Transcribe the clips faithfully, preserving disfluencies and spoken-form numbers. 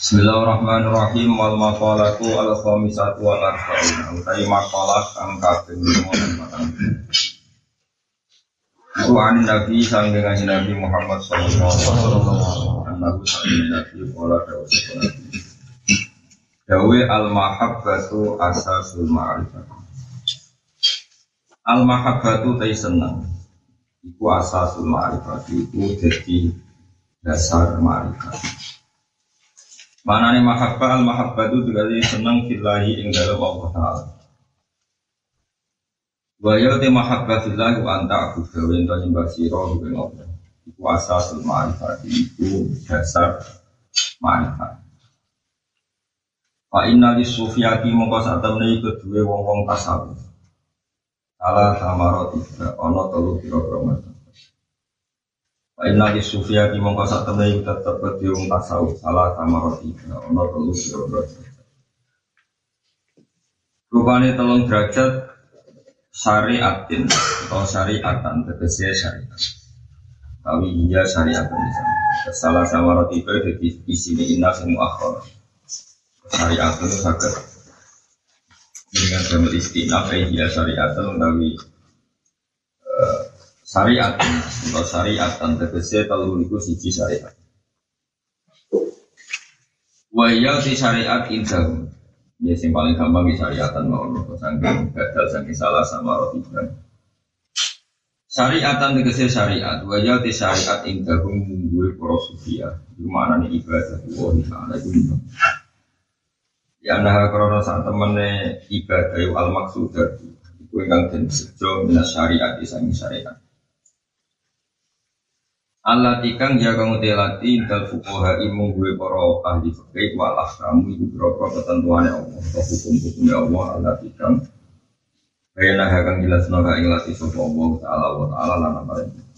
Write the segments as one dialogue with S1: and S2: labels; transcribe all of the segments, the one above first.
S1: Bismillahirrahmanirrahim. Wal maqalatu al khamisatu wal arba'un. Utai maqalah kang kaping lima lan patang. Iku an Nabi sanggehan Nabi Muhammad sallallahu alaihi wasallam. Nabi Nabi qala dawuh. Dawe al mahabbatu asasul ma'rifah. Al mahabbatu tay seneng. Iku asasul ma'rifah, iku dadi dasar ma'rifat. Manane mahabbah al mahabbah itu dikali senang fillahi ing dalem Allah Taala. Wa ya te mahabbah fillahi wa anta aku gawe ento nyembah sira ing Allah. Iku asasul ma'rifat, iku dasar ma'rifat. Fa inna lis-sufiyati mongko sak temne kedue wong-wong tasawuf. Ala samarati ana telu pira-pira macam. Inna di sufiyati mongko sak temne tetep diung tasawuf salah samarati ana telu derajat. Rupane telung derajat syariatin atau syariatan tegese syariat. Tapi iya syariatan bisa. Salah samarati itu di isine inna sing akhir. Syariat itu saged dengan damel istinaf iya syariatan utawi syariat atau syariat dan tegese telu niku siji syariat. Wa ya ti syariat indah. Ya sing paling gampang di syariatan mau kok saking gagal saking salah sama roti kan. Syariatan tegese syariat, wa ya ti syariat indah mungguwe para sufia. Iku maknane ibadah wa ta'ala iku. Ya nah karena sak temene ibadah al maqsudah iku ingkang den sejo minas syariat isang syariat. Allah tikang ya kamu telati dal fuqaha imung gue para ahli fikih wal ahkam iku berapa ketentuane Allah atau hukum-hukumnya Allah Allah tikang bayana hakang jelasno ka ing lati sapa Allah taala wa taala lan apa.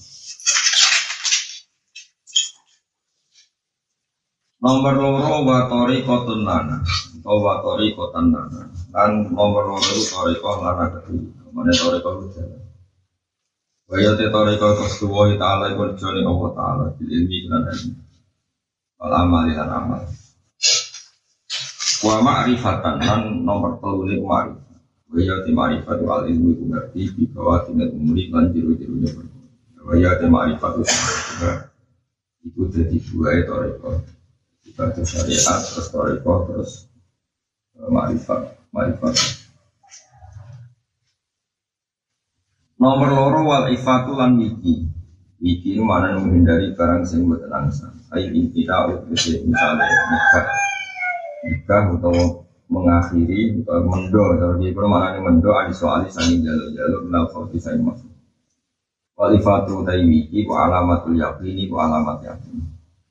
S1: Nomor loro wa tariqatun lana atau wa tariqatan lana lan nomor loro itu tariqah lana kedua mane tariqah itu Waya te toriko kesuwoi ta'ala ikut joni Allah ta'ala bil ilmi dan ilmi wal amal dan amal wa ma'rifatan dan nomor telulik ma'rifat waya te ma'rifat wal ilmi ku ngerti di bawah tingkat umuri dan jiru-jirunya waya te ma'rifat itu jadi dua ya toriko kita itu syariat terus toriko terus ma'rifat ma'rifat Nomor loro wal ifatu lan wiki. Wiki itu mana menghindari barang sing boten angsa. Ayo kita utus misalnya nikah, nikah atau mengakhiri atau mendo atau di mana mendo ada soal sanging jalur-jalur nafsu bisa masuk. Wal ifatu tai wiki ku alamatul yaqini ku alamat yakin.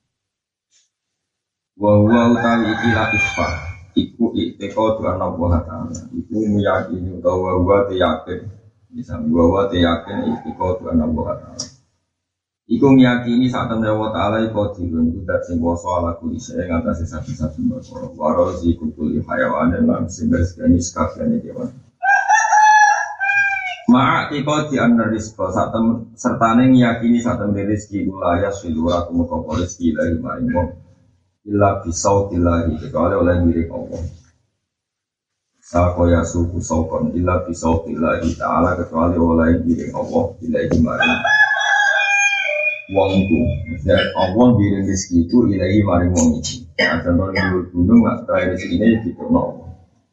S1: Wa huwa utawi iki latifah. Iku ikteko tu ana Allah Ta'ala. Iku meyakini utawa wa yakin. Bisa bahwa yakin iku Tuhan Allah Taala. Iku ngiyakini saat temen Allah Taala iku dirun iku dat sing kuwasa ala kuli sing ngatasi saben-saben perkara. Waro iku kuli hayawan lan sing segani sakjane kewan. Ma'a iku di anna rizqa saat temen sertane ngiyakini saat temen rezeki ulaya silura kumoko rezeki lahi maring wong. Illa bisautillah kecuali oleh milik Allah. Sakoya suku sokon illa bisauqillahi ta'ala kecuali oleh diri Allah ilahi maring wong itu maksudnya Allah diri rezeki itu ilahi maring wong itu ada orang gunung gak terakhir rezeki ini gitu no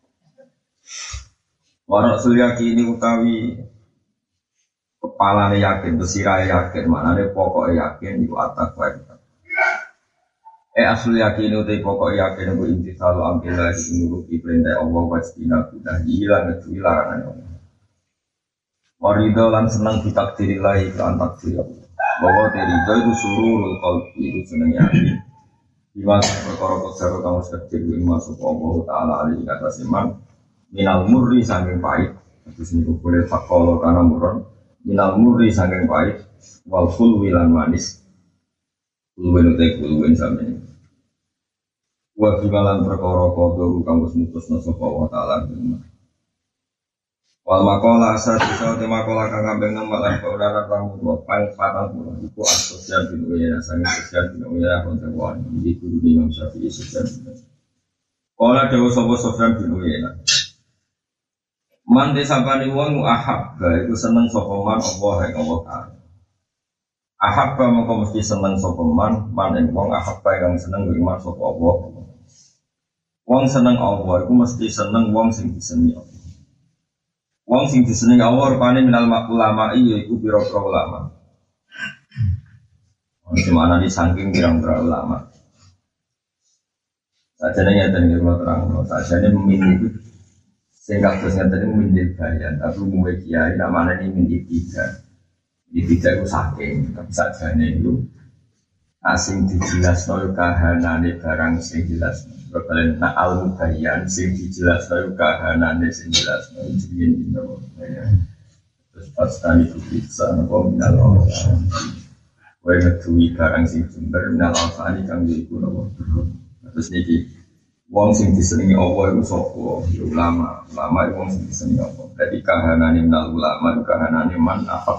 S1: warak sulyaki ini utawi kepalanya yakin besiraya yakin maknanya pokok yakin itu atak baik Eh asli yakin utai pokok yakin aku inti selalu ambillah dinuruti perintah Allah wastina kudah hilang itu larangan Allah. Warido lan senang ditakdirillahi kelan takdir Allah. Bahwa terido itu sururul qalbi itu senang yakin. Dimana perkara kesara kamu sekecil yang masuk Allah Ta'ala alaihi kata siman minal murri sangking pahit. Terus ini boleh fakolo karena muron minal murri sangking pahit wal fulwi lan manis. Fulwin utai fulwin sampai ini. Wa bimalan perkara kodoh kamu semutus nasab Allah Ta'ala Wal makola asal bisa di makola kang kambing nembak lan kaularan ramu dua pang patang puluh iku asosial bin uyana sangi sosial bin uyana kontewan iki guru Imam Syafi'i sosial bin Kala dawa sapa Sofyan bin Uyana Man desapani wong ahabba iku seneng sapa man Allah ing Allah taala Ahabba mongko mesti seneng sapa man man ing wong ahabba kang seneng iman sapa Allah Wong seneng Allah iku mesti seneng wong sing disenengi Allah Wong sing disenengi Allah rupane minal ulama iya iku pira-pira ulama. Gimana di saking pirang-pirang ulama. Sajane ngeten iki kula terangno, sajane memilih itu sing kados ngeten memilih bayan, tapi umume kiai namane memilih tiga. Iki tiga iku saking, tapi sajane itu asing dijelasno kahanane barang sing jelas. Bakalan nak al-mubayyan sing dijelasno kahanane sing jelas jenenge nopo ya terus pastani bisa nopo minal awsan wae ngetuwi barang sing jember minal awsan kang iku nopo terus niki wong sing disenengi Allah iku sapa ya ulama ulama iku wong sing disenengi Allah dadi kahanane minal ulama kahanane man afaq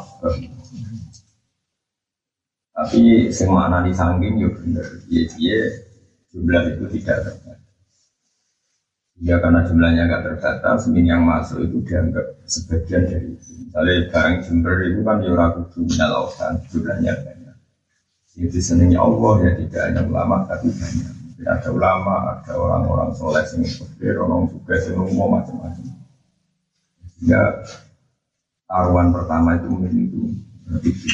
S1: tapi sing maknani sangking yo bener piye-piye jumlah itu tidak terbatas. Ya karena jumlahnya nggak terbatas, min yang masuk itu dianggap sebagian dari itu. Misalnya barang jember itu kan ya ragu minal awsan, jumlahnya banyak. Yang disenangi Allah ya tidak hanya ulama tapi banyak. Mungkin ada ulama, ada orang-orang soleh yang berpikir, orang juga yang umum macam-macam. Sehingga taruhan pertama itu mungkin itu itu.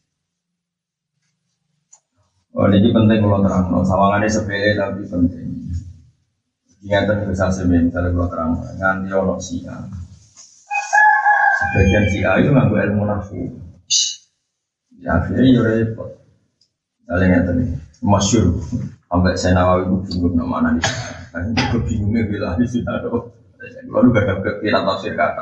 S1: Oh, ini penting kalau terang, no. Sawangannya sepele tapi penting. Ingatan besar sebenarnya, misalnya kalau terang, nganti orang Syiah. Sebagian Syiah itu nganggo ilmu nafsu. Ya akhirnya ya repot. Misalnya ngatan nih, masyhur. Sampai saya Nawawi itu bingung nama mana di sana. Kan juga bingungnya bila di sana. Lalu gak ada kira tafsir kata.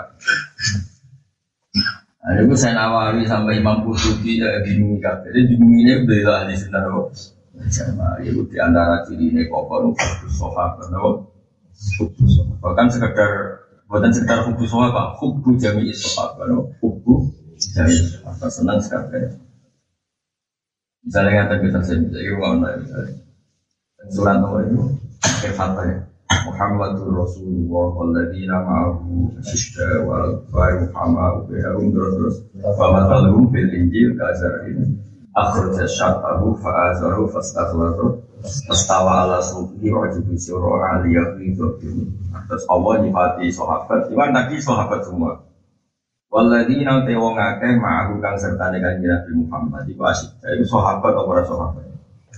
S1: Ada pun saya Nawawi sampai Imam Qurtubi ya bingung kabeh. Jadi bingungnya bela di sana loh. Sama itu di antara ciri ini kokon khusus sahabat loh. Bahkan sekedar bukan sekedar khusus sahabat, khusus jami sahabat loh. Khusus jami sahabat senang sekali. Misalnya kata kita sendiri, rumah mana misalnya. Surat nomor itu kata ya. Muhammadur Rasulullah walladzina ma'ahu asyidda wal kufar Muhammad bi'ahum terus wa matalhum fil injil kazarin akhraja syatahu fa'azaru fastakhlatu fastawa ala suqi wa jibu sura aliyah ridhotin terus Allah nyifati sahabat iwan tadi sahabat semua walladzina tewong akeh ma'ahu kang sertane kanjeng Nabi Muhammad iku asyidda itu sahabat atau para sahabat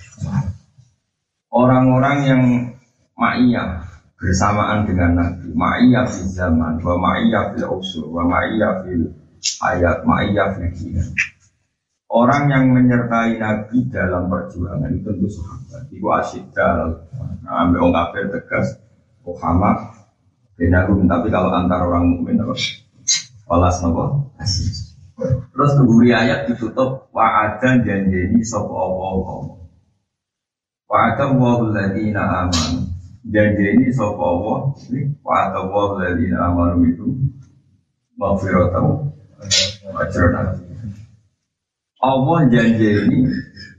S1: orang-orang yang ma'iyah bersamaan dengan Nabi, ma'iyah fil zaman, wa ma'iyah fil usur, wa ma'iyah fil hayat, ma'iyah fil kinan. Orang yang menyertai Nabi dalam perjuangan itu tentu sahabat. Iku asyidda, nah, ambil orang kafir tegas, Muhammad, benagum. Tapi kalau antara orang mukmin apa? Walas nopo, asyid. Terus keburi ayat ditutup wa'adan janjeni sapa Allah. Wa'adan wa'ul ladina aman. Janjeni sapa Allah wa'adan wa'ul ladina aman itu maghfiratan ajran. Allah janjeni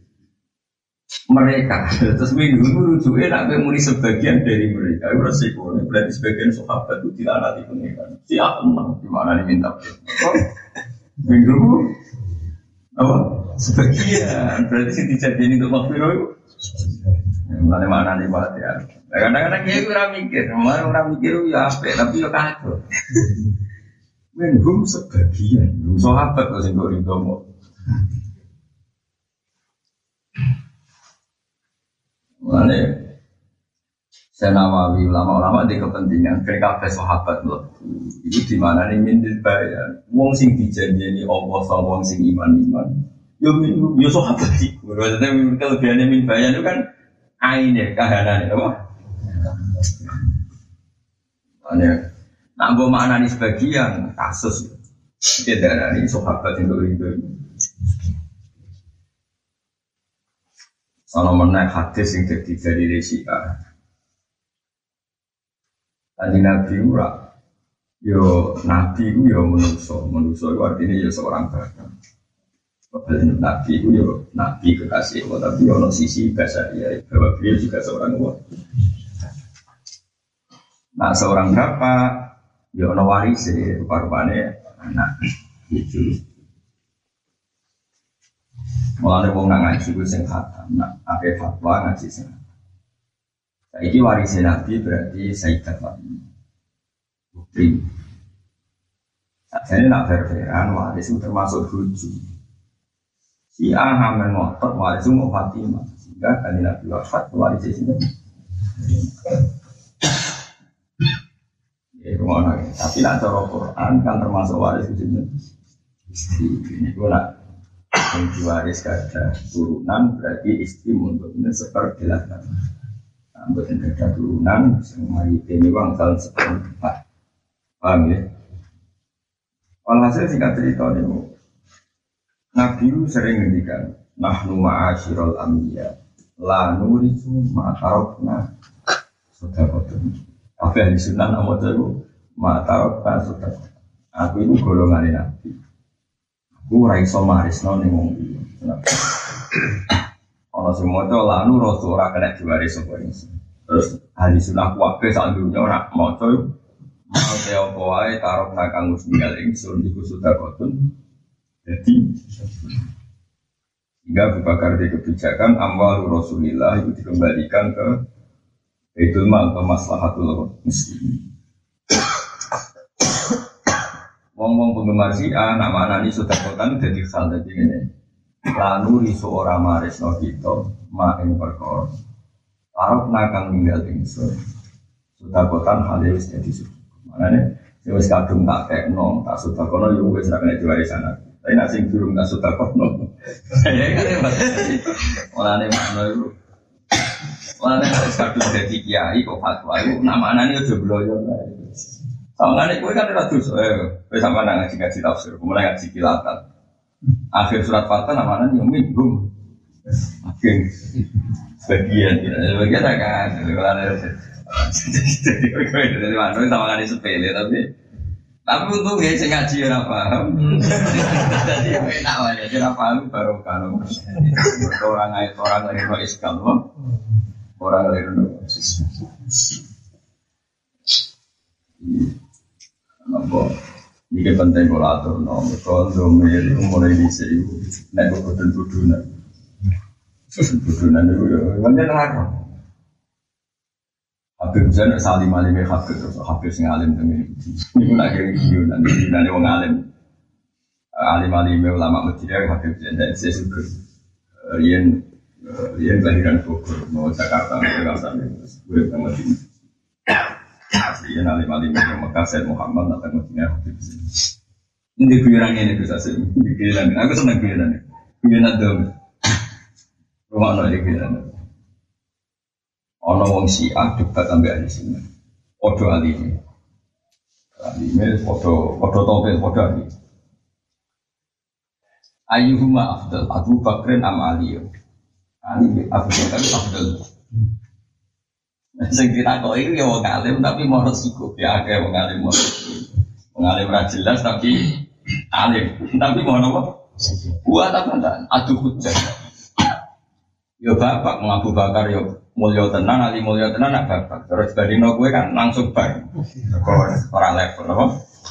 S1: mereka. Terus minggu itu rujuknya nak muni sebagian dari mereka. Itu resiko. Berarti sebagian sahabat itu dilaknati pengiran. Siapa menang? Gimana diminta? Minggu apa? Sebagian. Berarti sih dijadiin untuk maghfirah itu. Mana mana nih banget ya. Kadang-kadang dia kurang mikir. Mana orang mikir ya apa? Tapi ya kacau. Minggu sebagian. Sahabat kok sih kok rindu. Mulane saya Nawawi ulama-ulama di kepentingan mereka sahabat loh. Itu di mana nih mintil bayar. Wong sing dijanjeni Allah sama wong sing iman-iman. Yo minum yo sahabat sih. Maksudnya kelebihannya min bayar itu kan aine kahanane apa? Ane nak mbok maknani sebagian kasus. Iki darani sahabat itu itu. Soalnya menaik hadis yang jadi dari Resika. Tadi Nabi Ura Yo nabi itu yo manusia, manusia itu artinya yo seorang bapak. Bahkan nabi itu yo nabi kekasih Allah, tapi ono sisi bahasa dia bahwa beliau juga seorang Allah. Nah seorang bapak yo ono waris rupa-rupanya anak itu. Mulane wong nang ngaji ku sing khatam, nak akeh fatwa ngaji sing. Saiki waris nabi berarti Sayyidah Fatimah. Putri. Jadi nak berperan waris itu termasuk rujuk. Si Aham ngotot waris itu mau Fatimah. Sehingga kali Nabi wafat waris itu. Ya rumah lagi. Tapi nak cara Quran kan termasuk waris itu. Ini pun nak yang diwaris kada turunan berarti istri untuk seperdilakan. Ambil kada turunan semua ini bang salah seperempat. Paham ya? Walhasil singkat cerita ini, Nabi sering ngendikan, nahnu ma'asyiral anbiya, la nurisu ma'tarokna sodakotun. Apa yang disunan nama itu, ma'tarokna sodakotun. Aku itu golongan Nabi. Aku raiso marisno nih ngomong itu. Kalau semua itu la nurisu orang kena diwaris semua ini. Terus ahli sunnah kuwabe saat dunia orang mau coy. Mau teo koai taruh nakang musngal ingsun iku sedekahun. Jadi hingga Abu Bakar di kebijakan amwal Rasulillah itu dikembalikan ke Baitul Mal atau maslahatul muslimin. Wong-wong penggemar Syiah nak maknani sedekahun dadi hal dadi ngene. Lanu riso ora maresno kita mak ing perkara. Taruh nakang ninggal ingsun. Sedekahun hal wis dadi makanya, saya wis kadung tak tekno, tak sudah kono, ya wis nak kena diwarisan aku. Tapi nak sing durung tak sudah kono. Ya kan ya mas. Makanya makna itu, makanya harus kadung jadi kiai kok fatwa itu, namanya ini udah beloyo. Makanya gue kan ada tuh, eh, gue sama ngaji ngaji tafsir, mulai ngaji kilatan. Akhir surat fatwa namanya yang minggu. Akhir sebagian, sebagian kan, kalau ada. Jadi dari mana sama kali sepele tapi tapi untung ya saya ngaji ya paham. Jadi enak aja jadi paham baru kalau orang ayat orang lagi no iskal orang lagi no nampak ini penting kalau atur no kalau domir mulai di sini naik bukan tuduhan tuduhan itu ya banyak larang. Habib Zain salim alim Habib terus Habib sing alim temen iki. Niku nak kira video nanti nanti wong alim. Alim alim ulama Madinah Habib Zain dan saya suka yen yen kelahiran Bogor mau Jakarta Jakarta terus gue ke Madinah. Aslinya alim alim yang Mekah Said Muhammad datang Madinah Habib Zain. Ini guyonan ini bisa sih. Guyonan. Aku senang guyonan. Guyonan dong. Rumah no ini guyonan. Ono wong Syiah debat ambek ahli sunnah. Podo alime. Alime podo podo topel podo ali. Ayyuhuma afdal Abu Bakrin am Ali. Ali Abu Bakar afdal. Sing ditakok iki ya wong alim tapi mau resiko ya akeh wong alim mau. Wong alim ra jelas tapi alim. Tapi mau apa? Buat apa ndak? Adu hujjah. Yo bapak Abu Bakar yo mulya tenan, ali mulya tenan nak bapak. Terus bandingno kowe kan langsung bar. Ora level apa?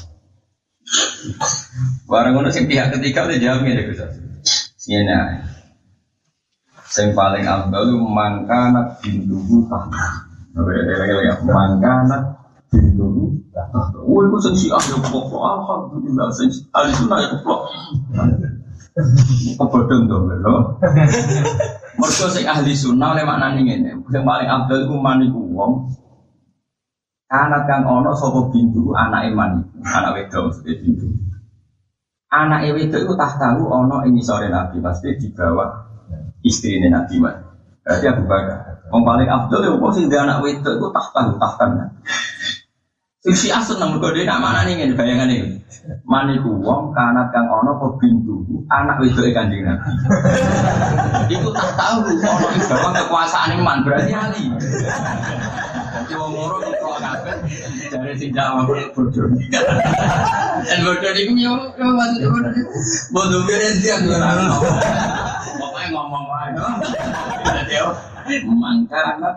S1: Barang ngono sing pihak ketiga udah jawab ngene Gus. Siyene. Sing paling afdal mangkana binduhu tahta. Lagi-lagi mangkana binduhu tahta. Oh iku sing Syiah yo kok alhamdulillah sing ahli sunnah ya kok. Kebodhong to lho. Mergo sing ahli sunnah oleh maknane ngene, sing paling afdal iku maniku wong anak kang ana sapa bintu anake man, anak wedok mesti bintu. Anake wedok iku tahtahu ana ing isore Nabi, pasti di bawah istrine Nabi man. Berarti Abu Bakar. Wong paling afdal ya wong sing duwe anak wedok iku tahtahu tahtan. Sing Syiah seneng mergo dhewe nak maknane ngene bayangane. Maniku wong kanat kang ana apa bintu anak wedoke Kanjeng Nabi. Iku tak tahu ana ing bawah kekuasaane man berarti ali. Wong loro kok kabeh jare sing jawab bodoh. Dan bodoh niku yo yo maksud bodoh niku. Bodoh beren dia ora ono. Pokoke ngomong wae. Dadi yo mangkana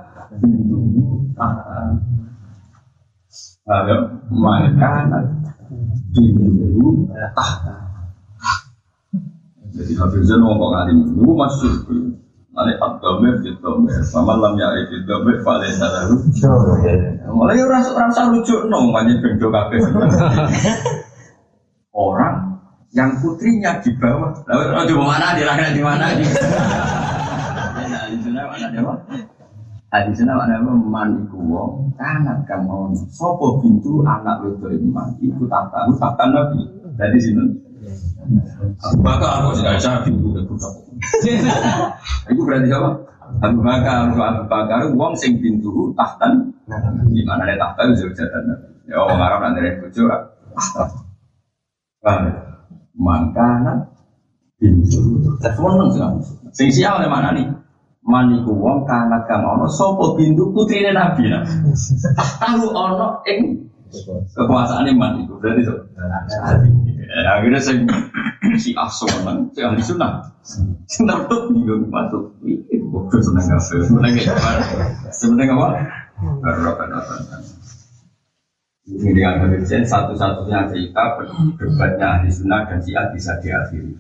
S1: ayo mangkana bintu tahta. Jadi Hafizan ngomong alim itu masuk nanti abdomen abdomen sama lam ya abdomen paling salah lucu mulai rasa rasa lucu nong banyak bentuk kafe orang yang putrinya di bawah lalu di mana di mana di mana di sana mana dia di sana mana maniku wong kanat kamu sopo pintu anak itu iman ikut tak tahu tak nabi dari sini. Abu Bakar aku tidak bisa pintu deku sapu. Itu berarti apa? Abu Bakar, Abu Bakar, uang sing pintu tahtan. Di mana ada tahta itu jadian. Ya orang Arab nanti ada bojo. Mangkana pintu. Semua nang sing. Sing siapa mana nih? Maniku wong kanat kang ono sapa pintu putrine Nabi. Tahu ono ing kekuasaan iman itu berarti itu. Ya, akhirnya saya si asoman, si ahli sunnah, sunnah tuh bingung masuk. Itu bodoh seneng kafe, seneng apa? Seneng apa? Baru apa apa? Ini dengan kemudian satu-satunya cerita berdebatnya ahli sunnah dan si ahli bisa diakhiri.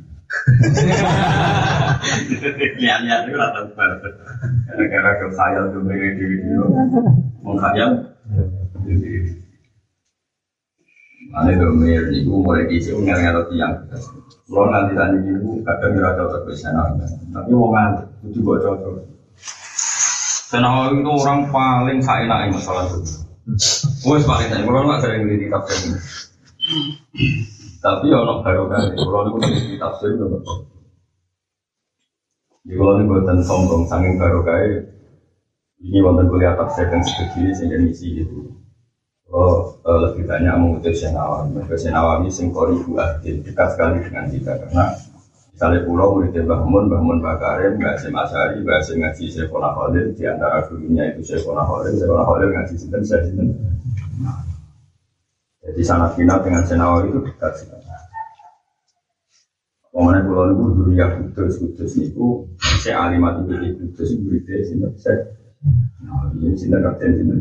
S1: Lihat-lihat itu rata rata. Gara-gara kekhayal tuh mereka di video, mengkhayal. Ane domir niku mulai dhisik ngel-ngel tiyang. Kulo nanti tadi niku kadang ora cocok wis ana. Tapi wong ngantuk kudu kok cocok. Senawa itu orang paling saenake masalah itu. Wes paling saya kulo enggak sering ngerti tafsir. Tapi ono barokah kulo niku ngerti tafsir kok. Di kulo niku boten sombong saking barokah. Ini wonten kuliah tafsir dan studi sing misi gitu. Oh, lebih banyak mengutus Syekh Nawawi. Mereka Syekh Nawawi singkori buah dekat sekali dengan kita karena misalnya pulau muridnya Mbah Mun, Mbah Mun Mbah Karim, Mbah Hasyim Asy'ari, Mbah Hasyim ngaji Syekhona Khalil di antara gurunya itu Syekhona Khalil, Syekhona Khalil ngaji sinten saya sinten. Jadi sanad final dengan Syekh Nawawi itu dekat sekali. Pemane pulau itu dulu ya kudus kudus niku Syekh Alimat itu kudus muridnya sinten Syekh. Nah, ini sinten kapten sinten.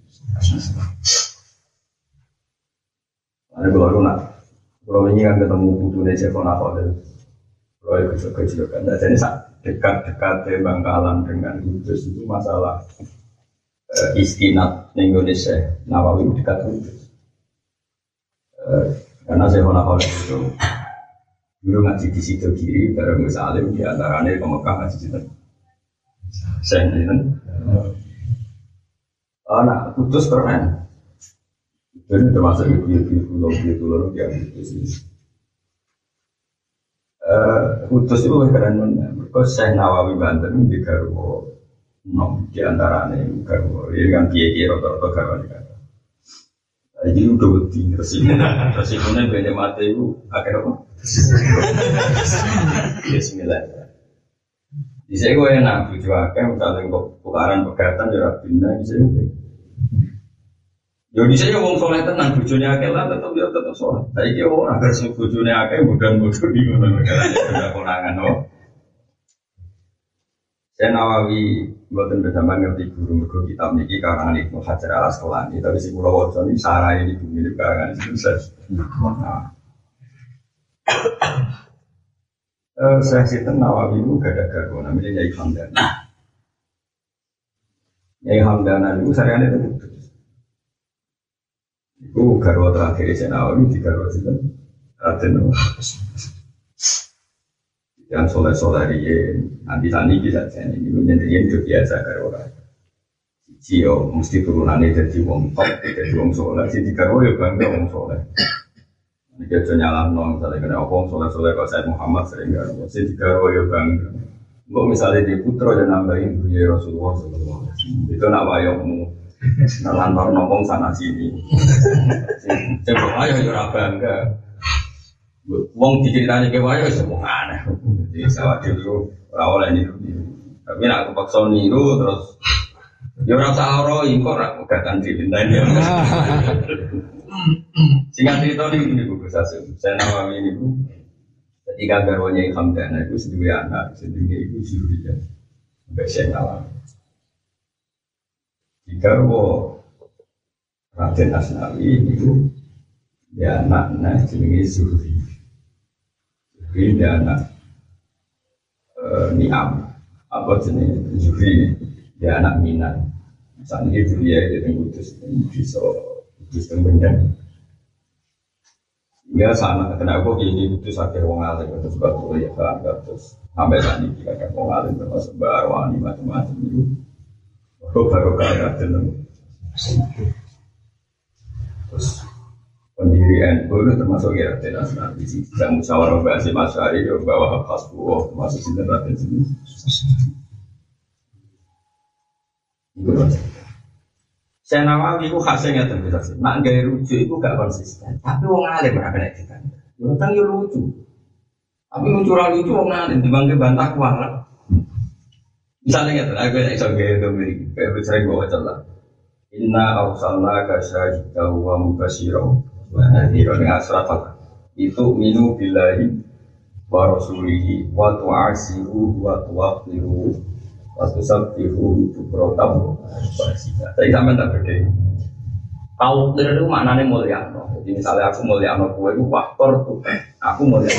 S1: Ada kalau nak, kalau ini kan ketemu putunya Syekhona Khalil, kalau itu kecil kan, jadi dekat-dekat Bangkalan dengan Kudus itu masalah uh, istinad Indonesia, Nawawi dekat Kudus, uh, karena Syekhona Khalil itu dulu ngaji di situ kiri, bareng Gus Alim di antaranya ke Mekah ngaji di situ, saya di situ, anak Kudus keren. Jadi termasuk video-video pulau-pulau pulau yang itu sih. Kudus itu keren mana? Mereka Syekh Nawawi Banten di Garwo, nom di antaranya Garwo. Ini kan kiai-kiai rata-rata Garwo ni kan. Jadi udah beti resiko, resikonya banyak mati itu akhirnya apa? Bismillah. Di saya gue enak tujuh akhir, misalnya kok tukaran pegatan jarak pindah di saya. Yo di saya ngomong soleh tenang, bujurnya akeh lah tetap dia tetap soleh. Tapi dia orang agar si bujurnya akeh bukan bujur di mana negaranya sudah konangan, no. Saya Nawawi buatan bersama ngerti guru guru kitab niki karangan Ibnu Hajar Al Asqalani, tapi si Pulau Wajon ini sarai ini mirip karangan sukses. Nah, saya Sinten Nawawi itu gak ada garwo namanya Nyai Hamdana. Nyai Hamdana itu sariannya itu. Itu garwa terakhir di Nawawi di garwa Sinten Raden yang soleh-soleh dia nanti tani bisa jadi ini menjadi itu biasa garwa Cio mesti turunannya jadi wong top jadi wong soleh jadi garwa ya bangga wong soleh ini kita nyala nong misalnya kena wong soleh-soleh kalau Said Muhammad sering garwa jadi garwa ya bangga kalau misalnya di putra dan nambahin punya Rasulullah Sallallahu Alaihi Wasallam itu nak wayokmu lantar nopong sana sini. Coba ayo ora bangga. Wong diceritani ke wayo wis wong aneh. Jadi sawah dulu ora oleh niru. Tapi nek aku paksa niru terus Ya ora usah ora iki kok ora pegatan dipintani. Singkat cerita ini Bu Sasim. Saya Nawawi ini Bu. Ketika garwanya Hamdana itu sendiri anak, sendiri itu Zuriyah. Sampai saya Nawawi. Jika wo Raden Asnawi itu dia anak-anak jenenge Zuhri. Zuhri dia anak uh, Niam. Apa jenis Zuhri dia anak Minan. Saat ini Zuriyah itu yang kudus, bisa kudus dan benda. Hingga sana kenapa ini kudus akhir wong alim terus batu ya kan terus sampai saat ini kita wong alim termasuk barwani macam-macam itu. Oh baru kaya tenang. Terus pendirian itu termasuk ya tenas nanti sih. Yang musyawarah bahasa masyari yang bawa khas buah termasuk sinten raden sini. Saya Nawawi itu khasnya nggak terbiasa. Nak gaya lucu itu gak konsisten. Tapi wong alim berapa nek kita. Yang tentang ya lucu. Tapi lucu orang lucu wong alim dibangke bantah kuat. Misalnya nggak aku yang iseng gaya itu mirip. Kayak sering bawa celah. Inna arsalna kasyahidah wa mubashiro wa nadhiro dengan surat Al. Itu minu billahi wa rasulihi wa tu'asiru wa tuwaqiru wa tusabbihu bukratan wasila. Saya sampai tak beda. Tauqir itu maknanya mulia. Jadi misalnya aku mulia sama kue itu waktor tuh. Aku mulia.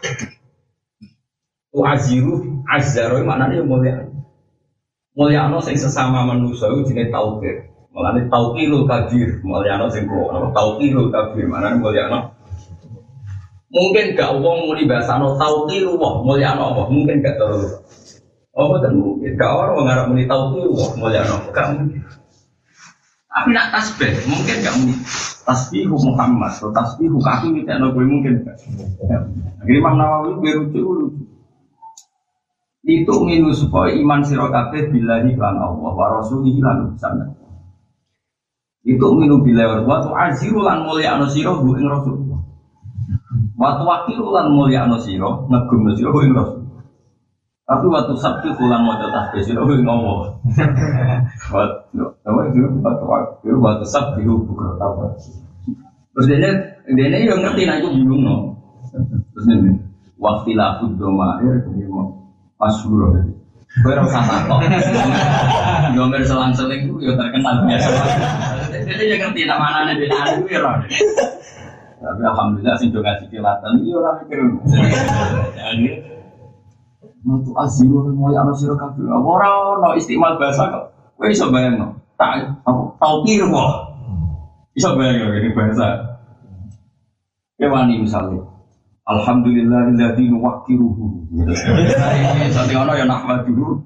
S1: Tu'asiru azzaro maknanya mulia. Mulyano sing sesama manusia itu jenis tauqir. Mulane tauqirul kabir, mulyano sing kok apa tauqirul kabir, manane mulyano. Mungkin gak wong muni basano tauqiru wah mulyano apa? Mungkin gak terus. Apa ten mungkin gak orang ngarep muni tauqiru wah mulyano, gak mungkin. Tapi nak tasbih, mungkin gak muni tasbihu Muhammad atau tasbihu kaki mitekno kowe mungkin gak. Akhire Imam Nawawi berucu itu minus supaya iman sira kabeh billahi lan Allah wa rasulihi lan utusan. Itu minu billahi wa tu'aziru lan mulya'na sira hu ing rasul. Wa tuwaqiru lan mulya'na sira ngagumna sira hu ing rasul. Tapi waktu sabtu lan maca tasbih sira hu ing Allah. Wa tuwaqiru wa tuwaqiru wa tusabbihu bukratan. Terus dene dene yo ngerti nek iku bingung no. Terus dene waqtilah domair dene masyhur dadi. Kowe ora usah takok. Gomer selang-seling ku yo terkenal biasa. Dadi yo ngerti nak manane dene aku yo ora. Tapi alhamdulillah sing do ngaji kilatan iki ora mikir. Jadi mutu aziro moyo ana sira kabeh. Ora ono istimal bahasa kok. Kowe iso bayangno. Tak apa taukir kok. Iso bayangno ini bahasa. Kewani misalnya alhamdulillahilladzi nuwaqqiruhu. Sate ono ya nahmaduhu.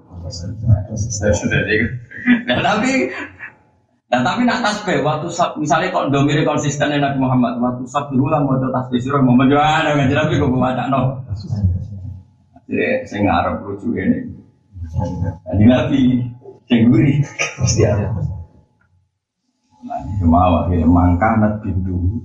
S1: Nah tapi nah tapi nak tasbih waktu misalnya kok domire konsisten Nabi Muhammad waktu sabtu lan maca tasbih sira Muhammad ana nggak jelas kok bacakno. Jadi saya ngarep lucu ini. Jadi Nabi sing guri mesti ada. Nah, cuma wae mangkanat bindu.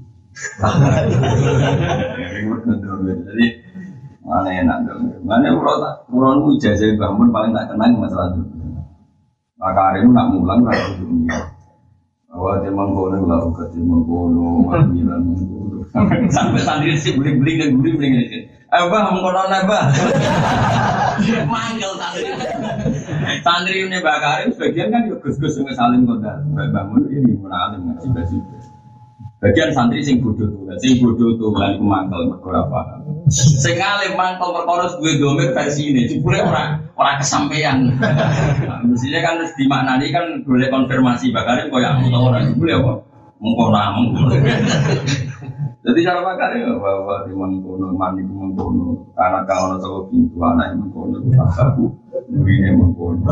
S1: Jadi mana enak dong, mana urut urut ijazah bangun paling tak kenang masalah itu. Maka hari itu nak mulang kalau dunia, bahwa dia mengkono lalu kerja mengkono, manggilan mengkono. Sampai santri sih beli-beli dan beli-beli ini. Eh bah mengkono nabah, manggil santri. Santri ini bakar sebagian kan juga gus-gus yang saling kodar, bangun ini munalim ngasih baju. Bagian santri sing bodoh tuh, sing bodoh tuh lan iku mangkel mergo ora paham. Sing alim mangkel perkara duwe domir versi ini, jebule ora ora kesampaian. Nah, mestinya kan harus dimaknani kan boleh konfirmasi bakarin koyo aku tau ora jebule apa mengko ora mengko. Jadi cara bakare bahwa di mengkono mandi mengkono karena kalau ana saka pintu anak mengkono aku murine mengkono.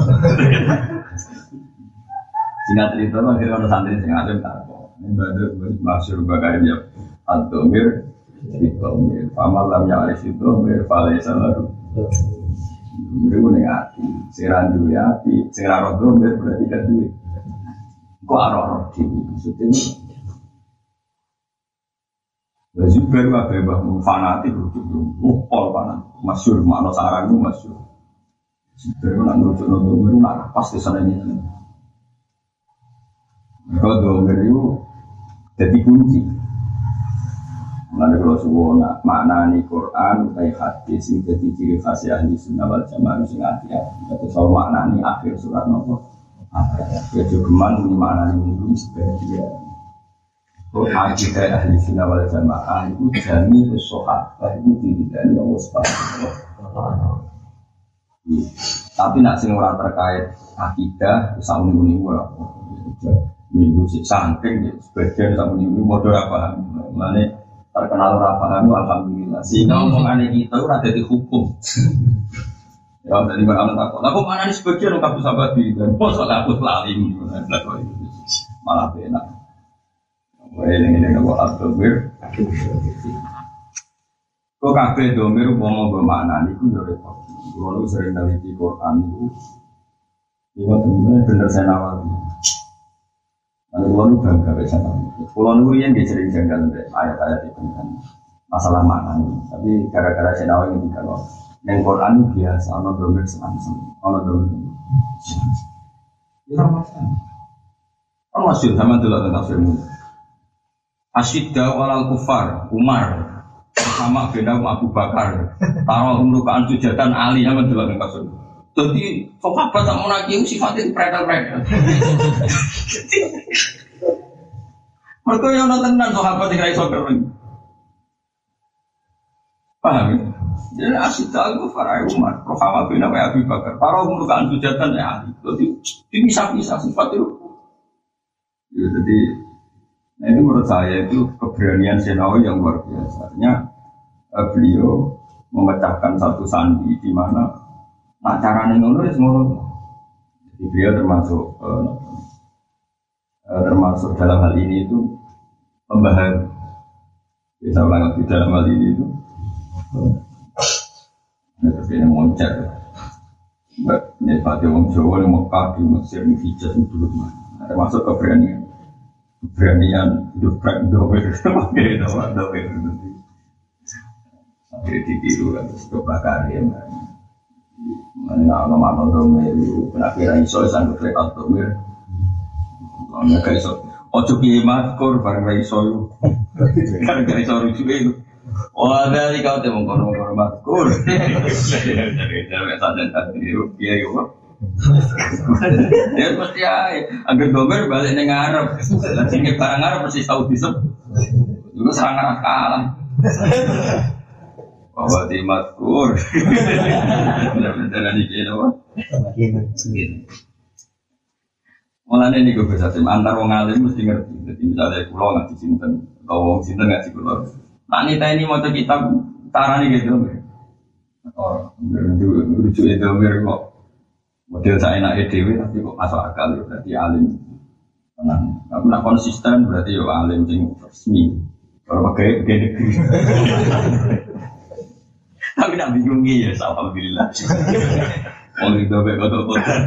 S1: Singkat cerita akhirnya ana santri sing alim tak ibadah masyhur bakar ya ad-domir itu amal lam ya'rif itu berfalaysa lalu itu ning ati siran duwe ati sing ora domir berarti gak duwe kok ora di maksudnya lha baru apa bah fanatik itu upol panan masyhur makna sarangmu masyhur baru nak nujuk nujuk nak pasti sana ini Kalau domir itu jadi kunci. Mana kalau suwona maknani Quran utai hadis itu jadi ciri khas ahli sunnah wal jamaah sing hati-hati. Itu soal maknani akhir surat nopo. Ya juga man maknani minggu sebagian. Oh akidah ahli sunnah wal jamaah itu jami usohat, itu tidak ada waspada. Tapi nak sing ora terkait akidah usah muni-muni ora. Minggu sik saking sebagian sak muni-muni padha ora paham. Mane terkenal ora paham alhamdulillah. Sehingga omongane kita ora dadi hukum. Ya dari mana takut. Lah kok manane sebagian kabeh sahabat iki dan mosok aku lali malah enak. Wae ning ning kok al-domir. Kok kabeh domir umpama nggo maknane iku yo repot. Kulo sering neliti Quran itu, itu benar benar saya nawar. Lalu kulo bangga bisa tahu. Kulo nuru yang sering janggal ayat-ayat itu kan masalah makna. Tapi gara-gara saya nawar ini kalau yang Quran biasa, ono domir senang-senang, ono domir. Itu masalah. Kan masih sama dulu tentang filmu. Asyidda walal kufar Umar. Sama beda Abu Bakar, taruh umrukaan sujatan Ali yang menjual dengan kasus. Jadi sahabat tak mau lagi sifatnya predel-predel. Mereka yang nonton dan sahabat yang iso kering. Paham ya? Jadi asyik aku Farai Umar, sama beda Abu Bakar, taruh umrukaan sujatan Ali. Jadi bisa-bisa sifat itu. Ya, jadi nah itu menurut saya itu keberanian Senawi yang luar biasanya. Beliau memecahkan satu sandi di mana nak caranya ngono ya ngono. Jadi beliau termasuk uh, uh, termasuk dalam hal ini itu pembahas. Ya, saya ulang lagi dalam hal ini itu. Ini terkait moncer. Ini pada orang Jawa yang Mekah di Mesir di Hijaz itu dulu mana. Termasuk keberanian, keberanian hidup praktik pakai doa doa itu. Jadi ditiru kan, coba karya mana mana domir, kenapa iso sanggup lewat domir? Mana gak iso? Ojo kiamat kor bareng iso, karena gak iso rujuk itu. Wah dari kau temu kono kono matkur. Jadi jadi saja tadi rupiah itu. Ya pasti ya, agar domir balik neng Arab, nanti barang Arab pasti tahu disep. Juga serang Arab kalah. Bahwa di matkur, benar-benar di kiri apa? Mulanya ini gue bisa tim antar wong alim mesti ngerti. Jadi misalnya pulau nggak disimpan, atau wong simpan nggak dipulau. Nah ini ini mau kita caranya gitu, oh lucu itu mir kok model saya nak edw tapi kok masuk akal berarti alim. Tenang, tapi nak konsisten berarti yo alim sing resmi. Kalau pakai pakai negeri. Tapi nak bingungi ya, alhamdulillah. Orang itu baik atau kotor.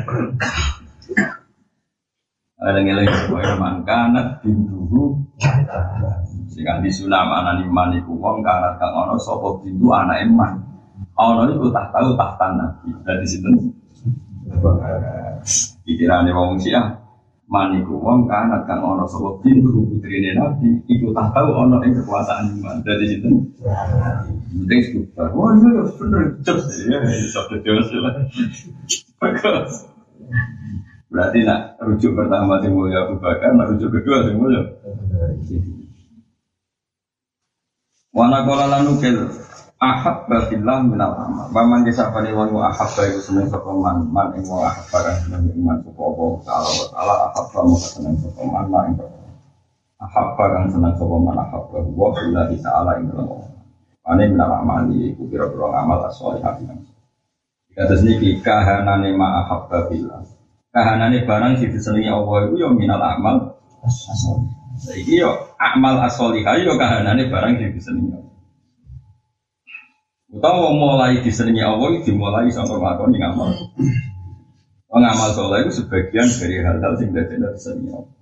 S1: Ada-ada yang mangkanat bintuhu. Sehingga di sunam anak iman itu wong kanat kang ono sopo bintu anak iman. Ono itu tak tahu tak tanah. Dari situ. Pikirannya wong Syiah. Maniku wong kanat kang ono sopo bintu putrine Nabi. Iku tak tahu ono yang kekuasaan iman. Dari situ. Penting sekitar, wah iya ya bener jos ya, sabda jos lah. Bagus. Berarti nak rujuk pertama sing mulia Abu Bakar, nak rujuk kedua sing mulia. Wana kola lanukil ahab bafillah minal amal. Paman desa pani wong ahab bayu seneng sapa man, man ing wong ahab barang seneng iman sapa apa taala wa taala ahab kamu seneng sapa man man ahab barang seneng sapa man ahab wa billahi taala ing dalem. Ane menapa mali iku pira-pira ngamal soleh hati kan. Kados niki kahanane ma'ahabba billah. Kahanane barang sing disenengi Allah iku ya minal amal as-solih. Saiki yo amal as-solih yo kahanane barang sing disenengi Allah. Utawa mulai disenengi Allah iki dimulai saka nglakoni ngamal. Ngamal soleh itu sebagian dari hal-hal sing dadekne disenengi Allah.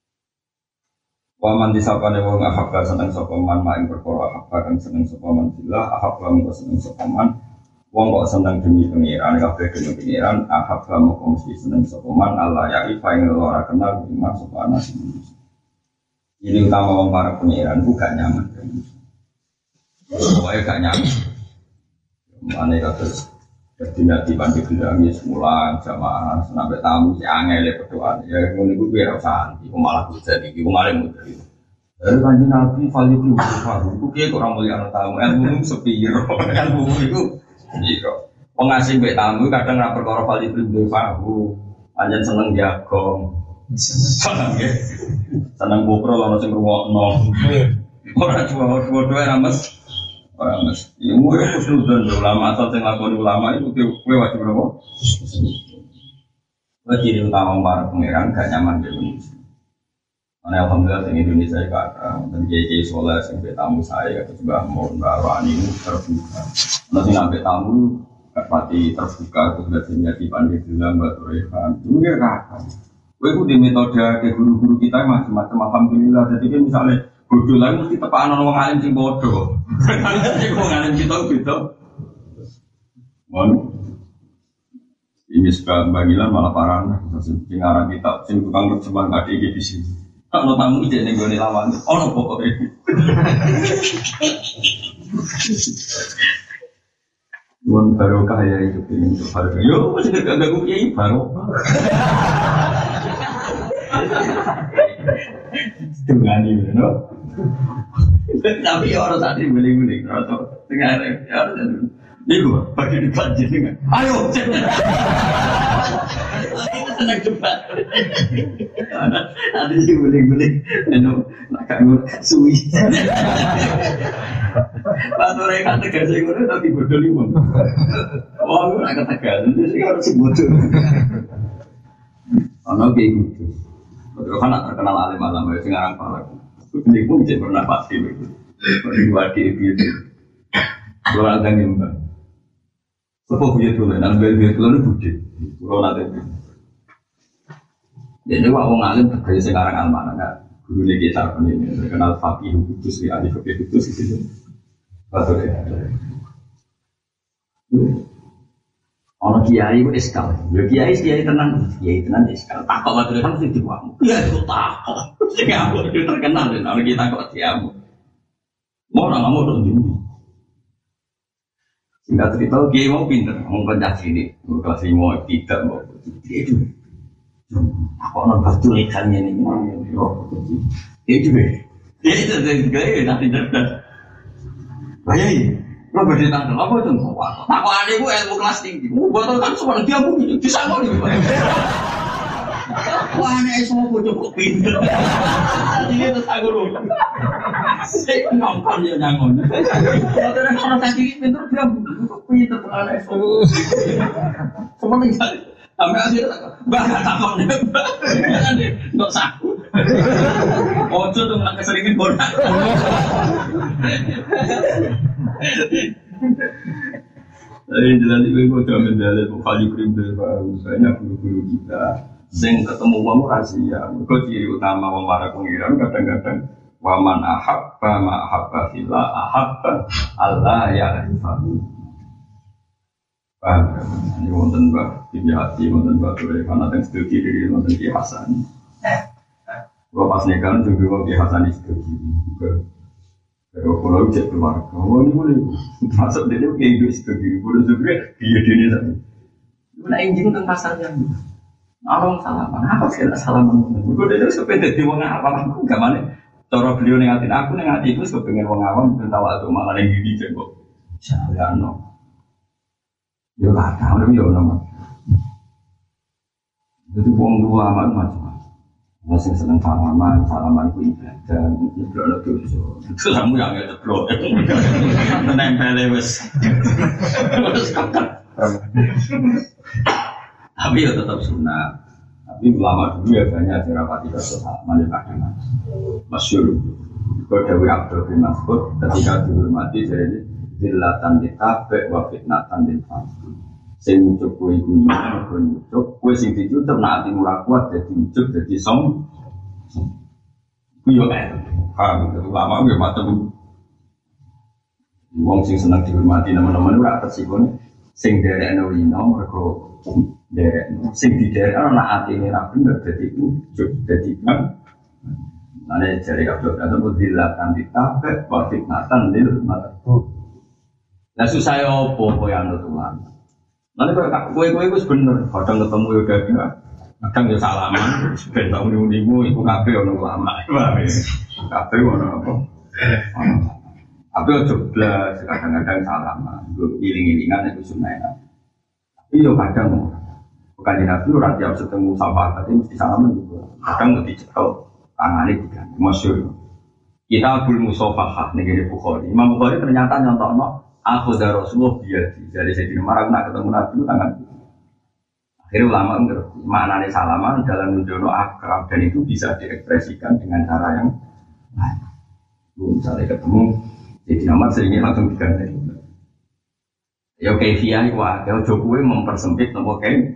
S1: Waman disapane wong ahabba seneng sapa man maing perkara ahabba kang seneng sapa man billah ahabba mung seneng sapa man Wong kok seneng demi pengiran, kabeh demi pengiran, ahab kamu kongsi seneng sokoman Allah ya ifa yang ora kenal iman sopana sini. Ini utama wong para pengiran, itu gak nyaman. Pokoknya gak nyaman. Mana kata tidak dibantu gendami semula jamaah sampai tamu si angel berdoa. Ya ngono iku biar santai, malah hujan iki, malah mudah. Dari kanjeng Nabi valid itu baru, itu kiai orang mulia tamu, ilmu sepiro, ilmu itu. Iya, pengasih mbek tamu kadang ra perkara valid itu baru, anjen seneng jagong, seneng ya, seneng bukro lono sing ngrungokno, ora cuma-cuma ra mes, ora mes. Ilmu itu sudah ulama atau sing lakoni ulama itu kowe wajib berapa? Wajib utama para pangeran gak nyaman di Indonesia. Karena alhamdulillah di Indonesia kakak dan kiai soleh sampai tamu saya atau juga mau bawa ini terbuka. Nanti sampai tamu pasti terbuka itu sudah terjadi pandai bilang batu rehan. Itu dia kakak. Gue itu di metode ke guru-guru kita macam-macam alhamdulillah. Jadi kan misalnya bodoh lagi mesti tepaan orang alim sing bodoh. Jadi orang alim kita gitu. Mau ini suka bagilan malah parah. Sing arah kita sing tukang terjemah nggak di di sini. Kalau tamu ide nih gue lawan, oh no pokoknya. Tuan baru kaya itu ini untuk baru. Yo masih agak agak gue kiai baru. Dengan ini, no. Tapi orang tadi beli-beli, atau tengah ada. Ini gue bagi debat jenengan. Ayo, itu senang debat. Ada sih guling-guling, anu nak kamu suwi. Pastor yang kata tegas yang mana tapi bodoh lima. Wah, aku nak tegas, jadi harus bodoh. Anak kayak gitu. Betul kan nak terkenal alim alam, ya sekarang palak. Ini pun bisa pernah pasti begitu. Berdua di itu. Kalau ada yang apa punya tulen, dan bel-bel tulen itu budi, kalau nanti. Jadi waktu ngalim terkait sekarang almana kan, guru lagi cara ini terkenal fakih kudus, ya ahli fakih kudus itu. Betul ya. Orang kiai itu eskal, ya kiai kiai tenang, kiai tenang eskal. Takut betul kan mesti diwamu. Ya itu takut, sehingga aku itu terkenal dan orang kita kok diamu. Mau orang mau dong. Singkat cerita, kiai mau pinter, mau kerja sini, mau kelas lima tidak mau dia itu. Apa orang batu ikannya ini, dia itu deh, dia itu dari gaya nanti cerdas. Bayai, lo bercerita tentang apa itu? Aku ada gue ilmu kelas tinggi, mau buat kan semua dia mungkin bisa mau nih. Wah, ini semua gue cukup pinter. Ini terus aku lupa. Saya nongkon ya nyangon. Kalau ada orang tadi pinter dia cukup pinter terlalu semua. Semua menjadi. Sampai akhirnya bah takon deh, bah. Nggak saku. Ojo tuh nggak keseringan bonak. Tapi jelas itu gue coba mendalat kali primbel baru banyak guru-guru kita. Sing ketemu wong rahasia, mergo ciri utama wong para pengiran kadang-kadang waman ahabba ma ahabba fillah ahabba Allah ya arifahu. Paham? Ini wonten Mbah Hati, wonten Mbah Tore, karena yang setuju diri wonten Ki Hasan. Kalau pas nikahan juga wong Ki Hasan setuju juga. Kalau kalau cek keluarga, wong ini boleh masuk dia kayak gitu setuju, boleh juga dia dia tadi. Mana injing tentang pasarnya? Orang salaman, apa sih ada salaman? Gue dari sepeda di wong awam, aku gak mana. Cara beliau nengatin aku nengatin itu sepengen wong awam bertawa atau malah yang gini cekok. Jangan no. Yo lah, tahu yo nama. Jadi wong tua amat macam-macam. Masih seneng salaman, salaman ku ibadah, nyeblok lo dosa. Itu kamu yang nyeblok. Menempel wes. Tapi ya tetap sunnah. Tapi ulama dulu ya banyak dirapati dosa mandi kadang masyhur. Kau Dewi Abdul bin Mas'ud ketika dihormati jadi zillatan ditabe wa fitnatan ditafsir. Sing ucap kue iku ya kue ucap kue sing dicucap nak ati murah kuat jadi ucap jadi som. Kuyo eh, paham itu ulama ya macam. Wong sing seneng dihormati nama-nama ora tersikone. sing derekno ino mergo derekno sing diderekno nek atine ra bener dadi ujug dadi kan ane jare kabeh atau dilatan ditabek wa fitnatan lil matbu la susah opo koyo anu tulan nanti kowe kowe wis bener kadang ketemu yo dadah kadang yo salaman ben tak muni-munimu iku kabeh ono ulama kabeh ono apa tapi ojo blas kadang-kadang salaman nggo iling-ilingan itu sunah tapi yo kadang bukan di nabi ora tiap ketemu sahabat tapi mesti salaman juga kadang mesti cekel tangane diganti masyhur kita Abdul Musofahah ning Bukhari Imam Bukhari ternyata nyontokno aku dari Rasulullah biasa dari Sayyidina Umar nak ketemu Nabi itu tangan akhirnya ulama ngerti maknanya salaman dalam menjono akrab dan itu bisa diekspresikan dengan cara yang lain misalnya ketemu Sayyidina Umar sehingga langsung diganti ya kefiah wah kalau Jokowi mempersempit nopo kain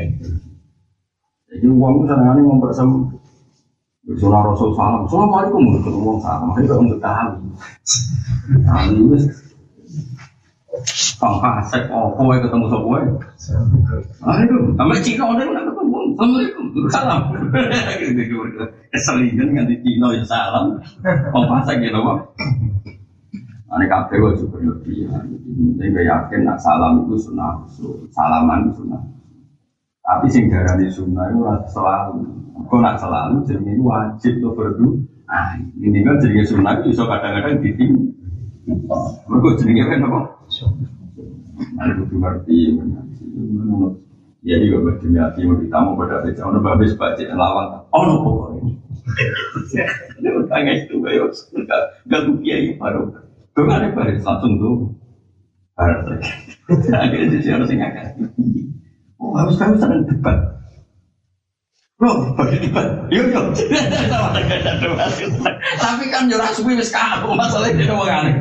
S1: jadi uang sana ini mempersempit Sunnah Rasul salam, assalamualaikum ketemu uang salam, makanya kalau untuk tahu nah ini Kang Kasek, oh kowe ketemu sapa kowe? Assalamualaikum. Sampai Cina udah nak ketemu. Assalamualaikum. Salam. Keselingan nganti Cina ya salam. Kang Kasek ya lho. Ane kabeh wae berlebihan. Nek yakin nak salam itu sunah, salaman itu sunah. Tapi sing darane sunah itu ora selalu. Kok nak selalu jenenge wajib to berdu. Ah, ini kan jenenge sunah itu iso kadang-kadang diting. Mergo jenenge kan apa? Ada butuh ngerti, menurut ya dia juga berdemiati tamu pada beca, orang babes baca lawan, orang pokoknya. Dia bertanya itu, ayo, nggak tuh kiai baru, tuh ada baris langsung tuh, barat lagi. Akhirnya dia harus ingatkan, oh habis kami sedang debat, loh bagi debat, yuk yuk, tapi kan jurah suwi wis kaku masalahnya dia ngomong aneh.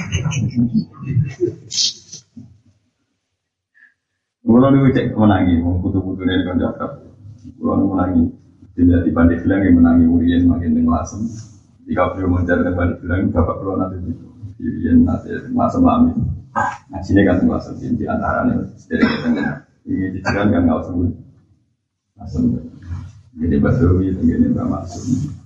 S1: Kalau ni cek menangi, putu-putu ni kan cakap. Kalau ni menangi, tidak dibanding bilang yang menangi urian makin tenggelasem. Jika beliau mencari dibanding bilang, bapak keluar nanti itu urian nanti masam lami. Nah sini kan tenggelasem di antara ni sedikit tengah. Ini dijalan kan nggak usah masam. Jadi Basrawi itu gini tak masuk.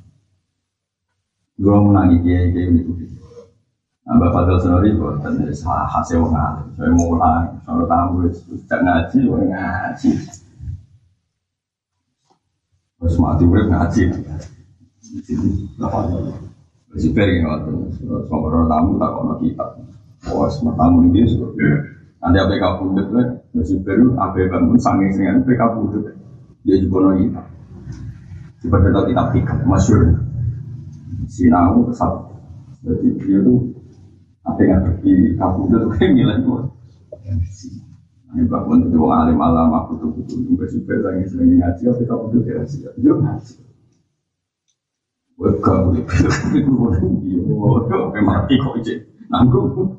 S1: Kalau menangi dia dia ini tu. Mbak Fadil Senori buat dan hasil mengalir. Saya mulai, kalau tamu sudah ngaji, saya ngaji. Terus mati murid ngaji. Di sini, apa ni? Masih pergi waktu. Semua tamu tak kono kitab. Oh, semua tamu ini sudah. Nanti apa kabur itu? Masih pergi apa bangun sanggeng dengan apa kabur itu? Dia juga kono kitab. Seperti itu kitab kitab masyhur. Sinau kesal. Jadi dia tu apa yang pergi kabur itu kayak milan tu. Ini bangun itu orang alim alam aku tu tu juga super sangat sering ngaji apa kabur itu dia sih. Dia ngaji. Buat kabur itu itu orang dia orang memang ikut je. Nanggung.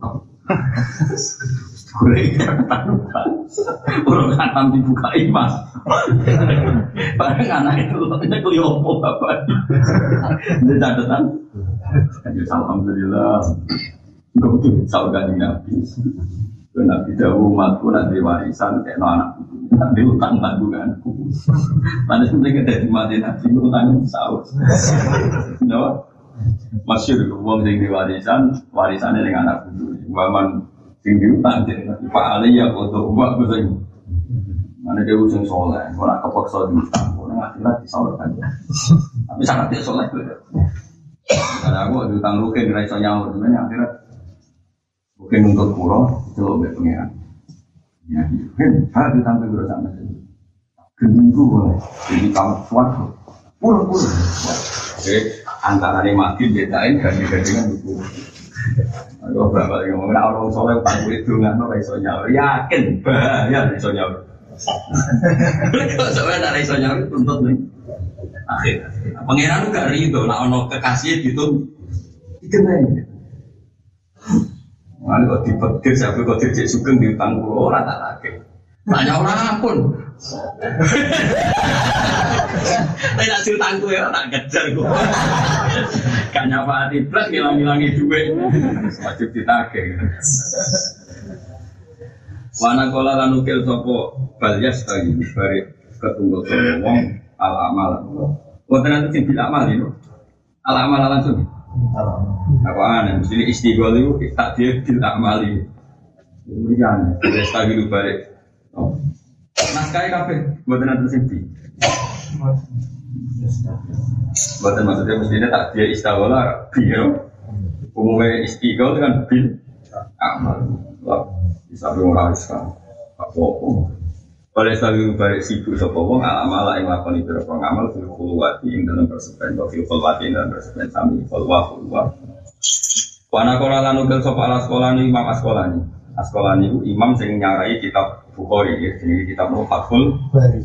S1: Boleh katakan orang kanan dibuka imas. Barang anak itu ini keliopo bapak. Dia catatan. Alhamdulillah. Enggak betul saudara Nabi. Nabi jauh umatku nanti warisan kayak anak nanti utang tanggunganku. Mana sebenarnya dari mati Nabi utang sahur. No, masyur uang yang diwarisan warisannya dengan anak itu. Waman yang diutang jadi Pak Ali ya untuk uang besar. Mana dia usung soleh, orang kepaksa diutang, orang akhirat disalurkan. Tapi sangat dia soleh tu. Karena aku diutang rukin dari sonyaur sebenarnya akhirat. Mungkin untuk pulau itu lebih pengeran. Ya, kan hal itu sampai bersama itu. Kedua, jadi kamu kuat, pulau pulau. Oke, antara yang mati bedain dan dibandingkan buku. Aku berapa yang ngomong orang soleh utang kulit dengan orang isonya, yakin bahaya isonya. Kalau soalnya dari isonya tuntut nih. Akhir, pengeran juga rindu, nak ono kekasih gitu, dikenai. Mana kau dipetir, siapa kau terjek sugeng diutang pulau orang tak lagi. Tanya orang pun. Tapi nak diutang gue, tak kejar gue. Gak nyapa hati plus, ngilang-ngilangi duit. Wajib ditagih. Wana kola lanukil sopo balyas tadi bari ketunggu sopo wong al amal. Wonten nanti sing bil amal itu al amal langsung. Apa aneh? Mesti istighol itu tak dia bil amal itu. Kemudian balyas tadi bari. Naskah kafe wonten nanti sing di. Wonten maksudnya mestinya tak dia istighol biar umumnya istighol dengan bil amal. Bisa orang sekarang, apa-apa. Oleh selalu balik sibuk sopong, alam-alam yang lakoni berapa ngamal, fil khulwati yang dalam persepen, fil khulwati yang dalam persepen, sami khulwa khulwa. Wana kola lanugel sopa ala sekolah ni imam asekolah ni, asekolah ni imam sing nyarai kitab Bukhari, ya, jadi kitab Fathul.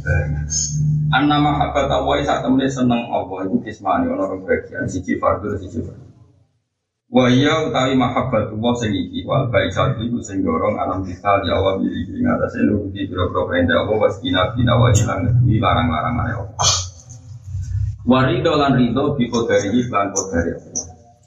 S1: An-nama habat awai saat temen seneng Allah itu kismani orang bagian siji fardu siji fardu. Waya utawi mahabbat Allah sing iki wal baisat iku sing dorong alam kita ya Allah iki ngatasi nuruti biro-biro perintah Allah was kina-kina wa ilang ngeduwi larang-larangane Allah. Warido lan rido bi qadari lan qadari Allah.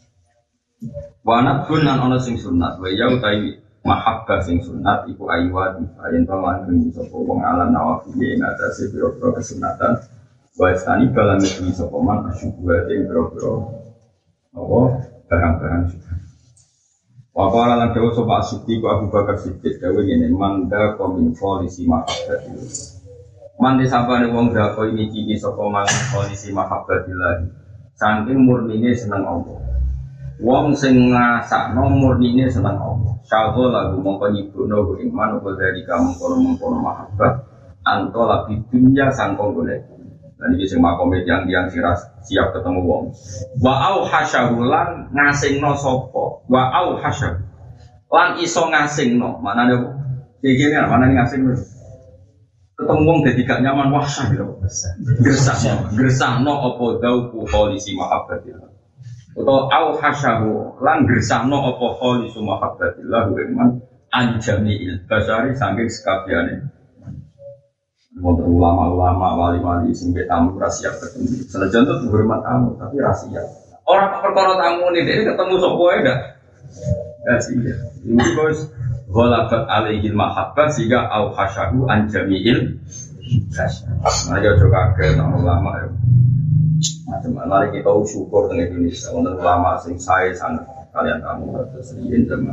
S1: Wa nabun lan ana sing sunat waya utawi mahabbah sing sunat iku ayyat yen to lan ngendi sapa wong alam nawafil ing ngatasi biro-biro kesunatan wa istani kalan ngeduwi sapa man asyukur ing biro-biro Allah barang-barang sudah. Wakala lan dewa sopa Siddiq Abu Bakar Siddiq dewa ini manda komin polisi mahabbatil. Mandi sabane wong dako ini kiki sopa man polisi mahabbatil. Saking murnine seneng Allah. Wong sing ngrasakno murnine seneng Allah. Syagho lagu mongko nyibukno iman apa dari kamu kono-kono mahabbat anto labi dunya sangkong golek. Dan ini sing makome yang-yang siap ketemu wong. Wa au hasyahulan ngasingno sapa. Wa au hasyah. Lan iso ngasingno. Manane iki ngene manane ngasingno. Ketemu wong dadi gak nyaman wah sah lho. Gresahno, gresahno apa dauku polisi mahabbatillah. Utawa au hasyahu lan gresahno apa polisi mahabbatillah iman anjamiil basari saking sekabehane. Untuk ulama-ulama, wali-wali, singkat tamu rahasia ketemu. Senajan itu hormat tamu, tapi rahasia. Orang perkara tamu ini, dia ketemu sopoe enggak? Rahasia. Ini bos, ghalabat alaihil mahabbah sehingga au khasyahu anjamiil. Nah, ya juga ke ulama ya. Macam-macam kita syukur dengan Indonesia. Untuk ulama sing saya sangat kalian tamu terus riyen zaman.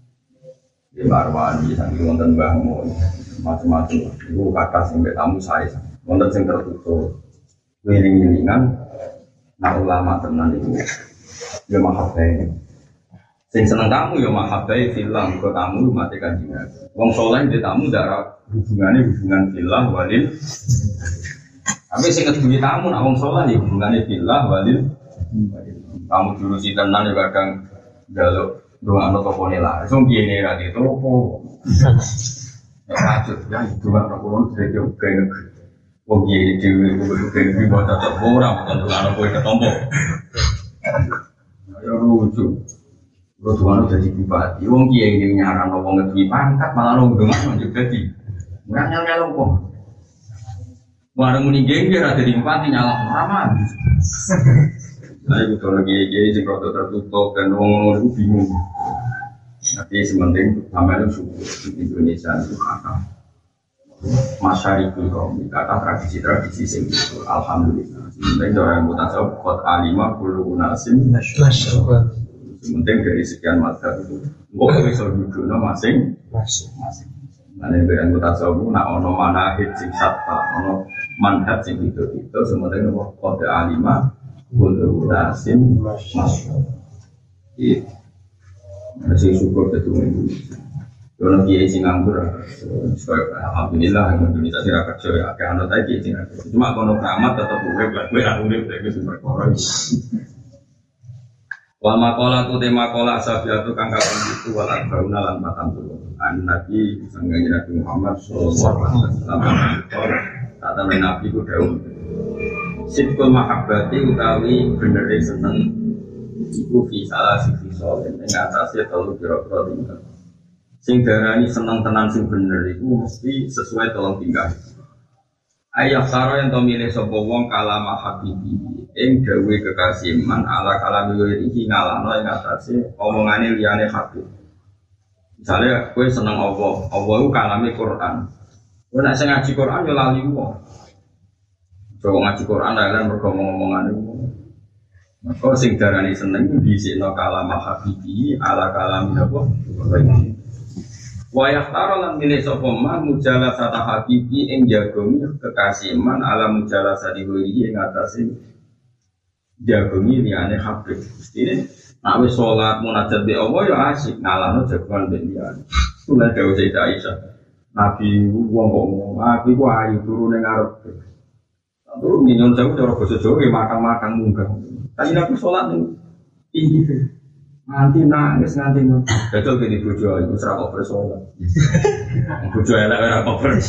S1: Di Marwani, sangat wonten bangun. Macam-macam itu kata sampai tamu saya wonten sing tertutup wiling-wilingan nak ulama tenan itu ya mahabbai sing seneng tamu ya mahabbai filah ke tamu mati kanjeng wong saleh di tamu darah hubungane hubungan filah walil tapi sing keduwe tamu nak wong saleh ya hubungane filah walil tamu dulu si tenan ya kadang njaluk ndongakno topone lah iso piye ra ditopo Rajut ya itu kan orang dari jauh ke negeri. Wong ye di ke negeri bawa tetap orang bukan anak boy ketompo. Ya lucu. Lu tuan jadi bupati. Wong ye ini nyaran wong negeri pangkat malah lu dengan juga di. Nggak nyala lompong. Warung muni gengger ada di bupati nyala ramah. Saya betul lagi ye sing rada tertutup dan wong itu bingung. Tapi sementing sama itu suku Indonesia itu kata masyarakat kaum kata tradisi-tradisi sing itu alhamdulillah. Sementing orang mutasawuf kot alimah bulu nasim. Sementing dari sekian mazhab itu, gua bisa duduk nama masing masing. Mana yang mutasawuf nak ono manahid sing satta, ono manhaj sing itu itu sementing kot alimah bulu nasim masuk. Masih syukur itu Indonesia. Kalau kiai sing nganggur, alhamdulillah Indonesia sih rakyat cewek. Kayak anak tadi kiai sing nganggur. Cuma kalau keramat tetap urip, gue aku urip dari sumber koran. Wal makola tu tema kola sabiatu kang kapan itu wal arbauna lan matan tu. An Nabi sangganya Nabi Muhammad sallallahu alaihi wasallam. Kata Nabi ku dawuh. Sibkul mahabbati utawi bener seneng iku fi salah sisi soal ing atase telu kira-kira tinggal. Sing darani seneng tenan sing bener iku mesti sesuai tolong tingkah. Ayah saro yang to milih sapa wong kalama habibi ing gawe kekasih man ala kalami iki ngalano ing atase omongane liyane habib. Misalnya gue seneng Allah, Allah itu kalame Quran. Gue nak ngaji Quran yo lali wong. Coba ngaji Quran lah mergo ngomong-ngomongan itu. Maka sing darani seneng dhisikno kalam habibi ala kalam apa? Wa yahtara lan milih sapa man mujalasata habibi ing jagongi kekasih man ala mujalasati wali ing atase jagongi liyane habib. Mestine nek wis salat munajat be Allah ya asik ngalano jagongan be liyane. Kula dawuh Sayyidah Aisyah. Nabi wong kok ngomong, "Nabi ku ayu turune ngarep." Terus minyon jauh cara basa Jawa ya matang-matang munggah. Tapi Nabi salat ning tinggi nganti nangis nganti betul gini bojo iku ora kok bersolat. Bojo elek ora kok ber.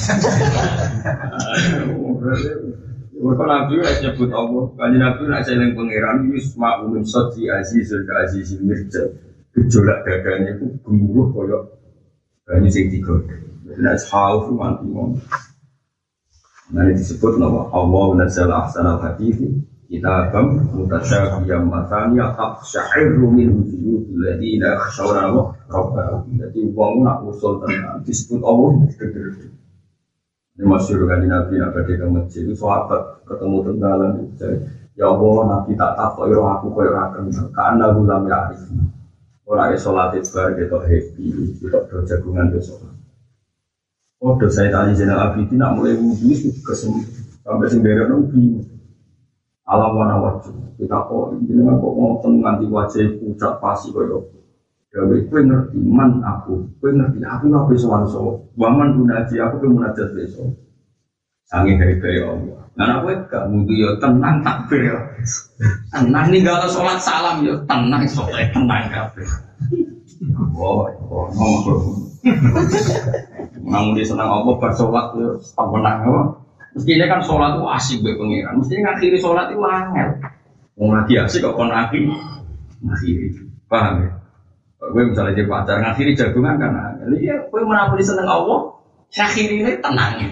S1: Mereka Nabi ora nyebut Allah, kan Nabi ora eling pangeran wis ma'un sadi azizul azizil mirja. Gejolak dadane iku gemuruh kaya banyu sing digodhog. Nek haus mati wong. Nah disebut nama Allah nazzala ahsanal hadithi kitabam mutasyabiham mataniya aqsya'irru min wujudil ladina yakhshawna rabbahum. Jadi wong nak usul tenan disebut Allah gede-gede. Ini masyhur kan Nabi nak pergi ke masjid itu sahabat ketemu tenggalan ya Allah Nabi tak takok ira aku koyo ora kenal kan aku lam ya arif. Ora iso salat bar ketok happy ketok do jagungan besok. Oh dosa tadi Zainal Abidin nak mulai wudhu kesem sampai sendiri nabi alam warna wajib kita kok ini kan kok ngomong nganti wajah pucat pasi koyo gawe kowe ngerti man aku kowe ngerti aku nggak bisa wanso waman gunaji aku kowe munajat besok sange dari dari Allah nah aku gak wudhu yo tenang takbir yo tenang ninggal sholat salam yo tenang sholat tenang kabeh oh oh ngomong namun dia senang apa bersolat itu menang apa? Mestinya kan solat itu asik be pengiran. Mestinya ngakhiri solat itu angel. Mau lagi asik kok kon akhiri ngakhiri. Paham ya? Gue misalnya jadi pacar ngakhiri jagungan kan angel. Iya, gue menapoli senang Allah. Akhiri ini tenangnya.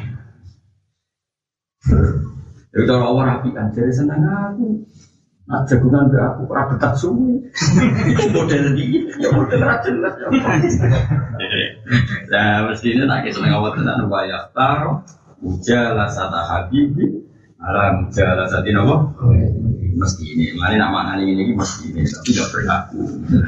S1: Jadi kalau Allah rapi kan jadi senang aku. Nah jagungan be aku ora betah suwi. Model iki ya model ra jelas ya. Lah mestine nek seneng awak tenan wayah taro mujalasata habibi ala mujalasati napa? Mestine. Mane nak maknane ngene iki mestine tapi tidak berlaku.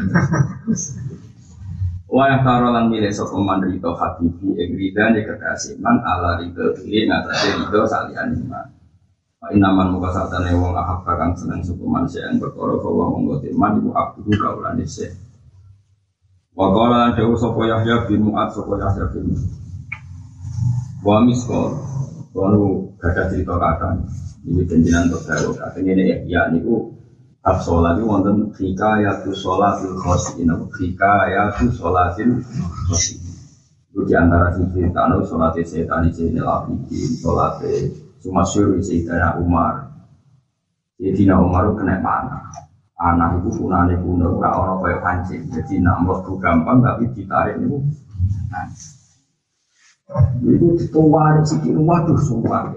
S1: Wayah taro lan milih sapa man rito habibi ing ridane kekasih man ala rito iki ngatasi rito saliyane man. Inaman muka satane wong ahab kang seneng suku manusia yang berkoro bahwa monggo timan ibu abdu kaulane se. Wa qala dawu sapa Yahya bin Mu'adz sapa Yahya bin Wa miskol kono gadah cerita kadang iki jenengan tok dawu kadang ngene ya niku bab salat iki wonten hikayatu sholatil khoshin hikayatu sholatil khoshin. Itu di antara sisi tanu sholatil setan iki nelapiki sholatil Sumasyur Sayyidina Umar. Sayyidina Umar kena panah. Anak itu punane kuno ora ana kaya pancing. Jadi nak mlebu gampang tapi ditarik niku. Iku dituwari sithik waduh sumpah.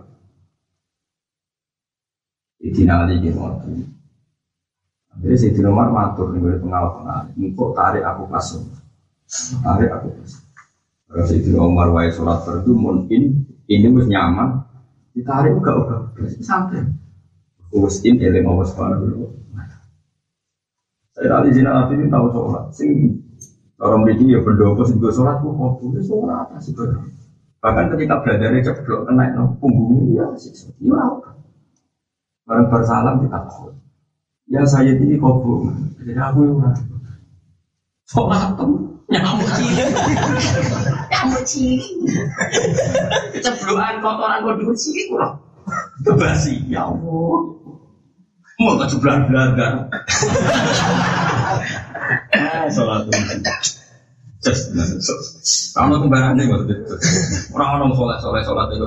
S1: Sayyidina Ali ki ngoten. Akhirnya Sayyidina Umar matur niku pengawal-pengawal. Engko tarik aku pasung. Tarik aku pasung. Kalau Sayyidina Umar wae salat fardu mungkin ini wis nyaman. Ditarik enggak udah santai. Usin eling Allah Subhanahu wa taala. Saya tadi Zainal Abidin tahu sholat. Sing orang begini ya berdoa sing go sholat kok kok sholat apa sih ber. Bahkan ketika belajarnya ceblok kena no punggungnya ya sih. Ya apa? Bareng bersalam ditakut. Ya saya ini kobong. Jadi aku ora. Sholat tuh nyamuk cilik. Nyamuk cilik. Ceblokan kotoran kodok cilik kok. Kebasi ya Allah. Mau keceblan belagar. Eh salat itu. Just kalau kembarane kok itu. Ora ono salat-salat salat itu.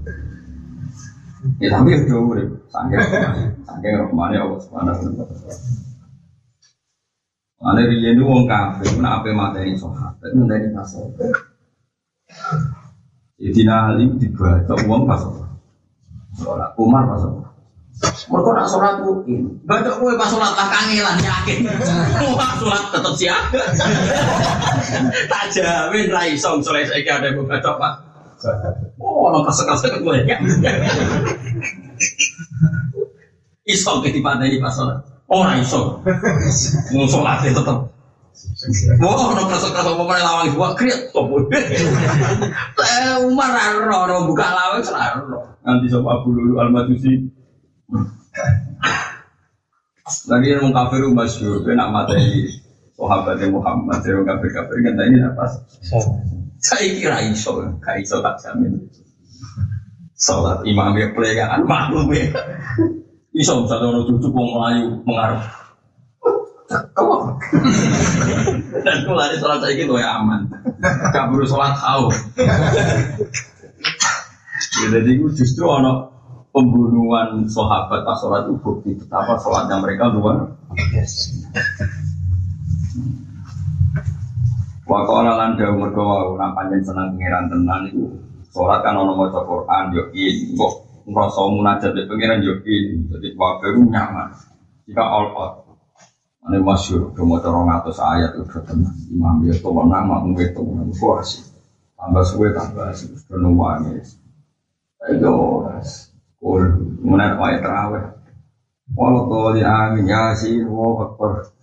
S1: Ya tapi itu urip. Sange sange rahmane Allah Subhanahu wa taala. Ane riyen itu wong kafir, nek ape mateni sahabat, mateni sahabat. Jadi nalim dibaca uang pas sholat, Umar pas sholat.
S2: Mereka nak sholat mungkin. Baca kue pas sholat lah kangelan yakin. Wah sholat tetap siaga. Tak jamin rai song sholat saya ada yang baca pak. Oh orang kasar-kasar gue ya. Isong ketipan dari pas sholat. Orang isong. Mau sholatnya tetap. Wah orang kasar-kasar mau main lawang dua kriat. Umar orang buka lawang selalu. Nanti sama Abu Lulu Al-Majusi. Lagi yang kafir masyhur, kena materi sahabatnya Muhammad, orang kafir kafir kan ini apa? Saya kira iso, kaya iso tak jamin. Salat imam yang pelegaan maklum ya. Iso satu orang cucu mau Melayu mengarut. Kau dan kalau ada salat saya gitu ya aman. Gak perlu salat tahu. Jadi justru ono pembunuhan sahabat pas sholat itu bukti betapa sholatnya mereka luar biasa. Wakola lan dawu mergo ora pancen seneng pangeran tenan iku sholat kan ana maca Quran yo iki kok ngrasa munajat be pangeran yo iki dadi wae nyaman. Jika all out ane masyhur do maca rong atus ayat itu tenan imam yo to nama ngwe to kuasi tambah suwe tambah sedono wae. Ayo Ul, mana kau terawih? Walau kau di angin ya sih, wow akbar.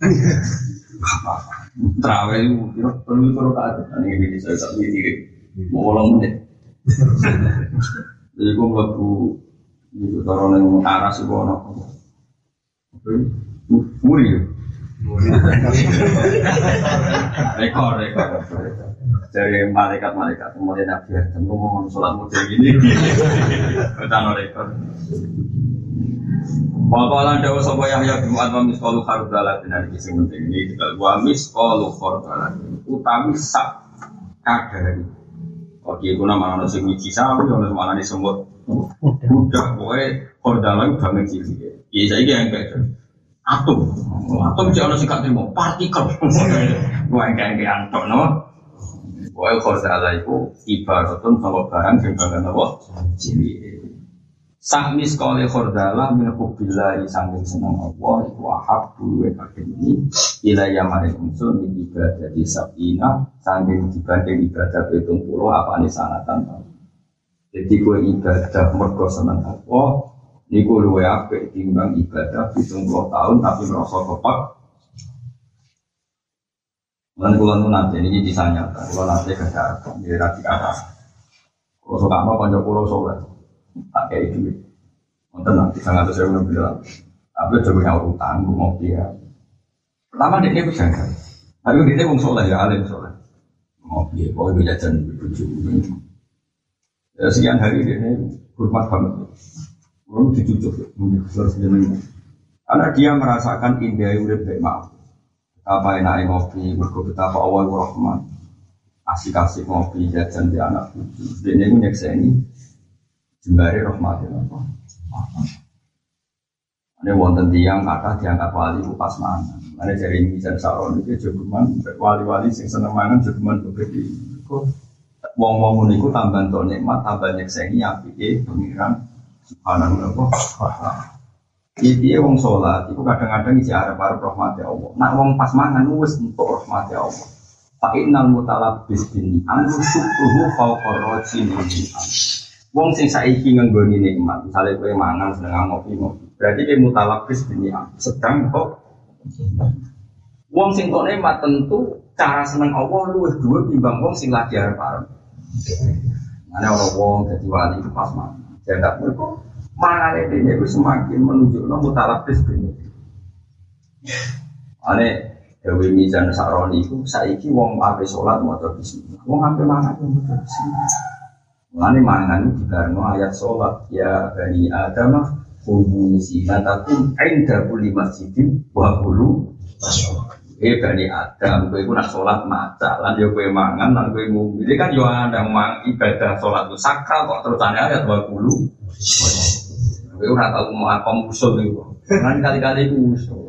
S2: Terawih itu perlu perlu kata. Ini ini saya tak berdiri, mau ulang menit. Jadi kau melaku itu taruh yang aras itu anak. Muri, rekor rekor. Dari malaikat-malaikat kemudian Nabi Adam ngomong sholat model ini kita rekor. Waqalan dawa sapa Yahya bin Mu'adz wa misqalu khardala benar iki sing penting iki wa misqalu khardala utawi sak kadari. Oke iku nama sing wiji sawi ono manane semut. Budak kowe khardala banget iki. Iki saiki yang kayak atom. Atom jek ono sing gak trimo partikel. Kowe engke antok no. Wae khordala iku ibaratun sama barang sing banget apa? Cilik. Sak miskale khordala min hubbillahi sanging seneng Allah iku ahabbu wa kadini ila yamare unsur min ibadah di sabina sanging dibanding ibadah pitung puluh apane sanatan. Jadi kowe ibadah mergo seneng Allah niku luwih apik timbang ibadah pitung puluh tahun tapi merasa kepak. Lan kula nu nate niki disanya, kula nate kada nggih ra dikata. Kula sok apa kanca kula sok tak kei duit. Wonten nang tiga ratus ribu bilang. Tapi coba yang utang ngopi ya. Pertama dia ku jangan. Tapi dia wong saleh ya alim saleh. Ngopi kok bisa jajan bojo. Ya sekian hari ini hormat banget. Kula dicucuk mungkin harus jeneng. Karena dia merasakan indah urip baik maaf. Apa enaknya ngopi, mergo betapa Allah Rahman. Asik-asik ngopi jajan di anak cucu. Dene ku nyekseni jembare rahmatin Allah. Ini wonten tiyang kathah diangkat wali ku pas mangan. Mane jare Mizan Saron iki jogeman wali-wali sing seneng mangan jogeman begede. Wong-wong niku tambah entuk nikmat, tambah nyekseni apike pengiran subhanahu wa ta'ala. Iki wong salat iku kadang-kadang isi arep-arep rahmati Allah. Nak wong pas mangan wis entuk rahmati Allah. Fa innal mutalabbis bin ni'am syukruhu fawqa rajin ni'am. Wong sing saiki ngenggoni nikmat, misale kowe mangan seneng ngopi-ngopi. Berarti kowe mutalabbis bin ni'am, sedang kok. Wong sing kok nikmat tentu cara seneng Allah luwih dhuwur timbang wong sing lagi arep-arep. Ana ora wong dadi wali pas mangan. Jangan mergo mana ini itu semakin menunjukkan mutalabis ini. Ane Dewi Mizan Saroni itu saiki wong ape sholat mau bismillah, wong ape mangan mau bismillah. Ane mangan itu karena ayat sholat ya bani Adam kudu sinatakum inda kulli masjidin wa kulu masyaallah. Eh bani Adam kowe iku nak sholat maca lan yo kowe mangan lan kowe ngombe. Iki kan yo ada mang ibadah sholat itu sakral kok terusane ayat wa kulu. Kowe ora tau mau apa musuh niku. Kan kali-kali ku musuh.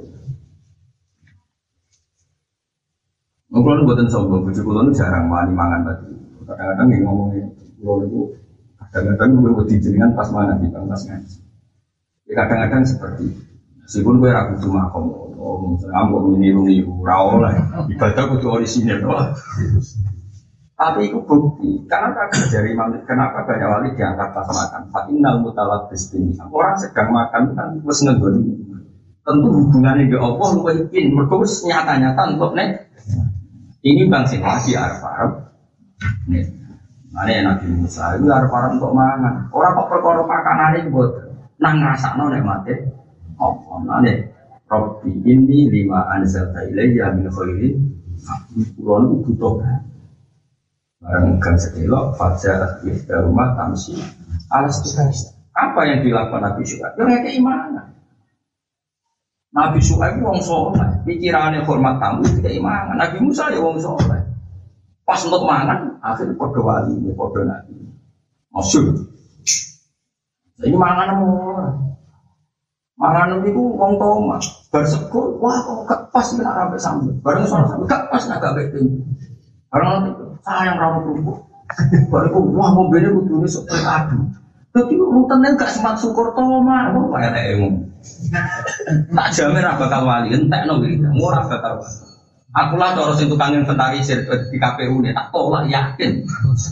S2: Mungkin buatan sombong, bujuk kulon jarang wani mangan tadi. Kadang-kadang yang ngomongin kulon itu, kadang-kadang gue buat dijenengan pas mana di pas ngaji. Ya, kadang-kadang seperti meskipun gue ragu cuma ngomong, oh, ngambok meniru-niru, rawol lah, ibadah kudu orisinil, tapi itu bukti. Karena dari manusia, kenapa banyak wali diangkat pas makan? Fa'innal mutalabis bini. Orang sedang makan kan terus ngegoni. Tentu hubungannya dengan Allah lu yakin, mereka nyata-nyata untuk nek. Ini bangsa lagi Arab-Arab. Nih, mana Nabi Musa itu Arab-Arab untuk mangan. Orang kok perkara makanan ini buat nang ngrasakno nek mate. Apa nane? Rabbi inni lima anzalta ilayya min khairin. Kulo niku butuh. Barang kan sedelok fajar iftar rumah tamsi. Alas tugas. Apa yang dilakukan Nabi Syuaib? Ya keimanan. Nabi Syuaib wong saleh, pikirannya hormat tamu itu keimanan. Nabi Musa ya wong saleh. Pas untuk mangan, akhirnya padha wali, padha nabi. Masyhur. Ini mangan ora. Mangan niku wong toma, bar sekul, wah kok gak pas nek sampe sambel. Bareng sono sampe gak pas nek gak beting. Bareng sayang ra kerupuk. Bariku wah mobilnya kudune sok adu. Dadi rutene gak sempat syukur toma, kok kaya nek tak jamin ra bakal wali, entekno iki. Ora bakal. Aku lah cara sing tukang inventarisir di K P U ne tak tolak yakin.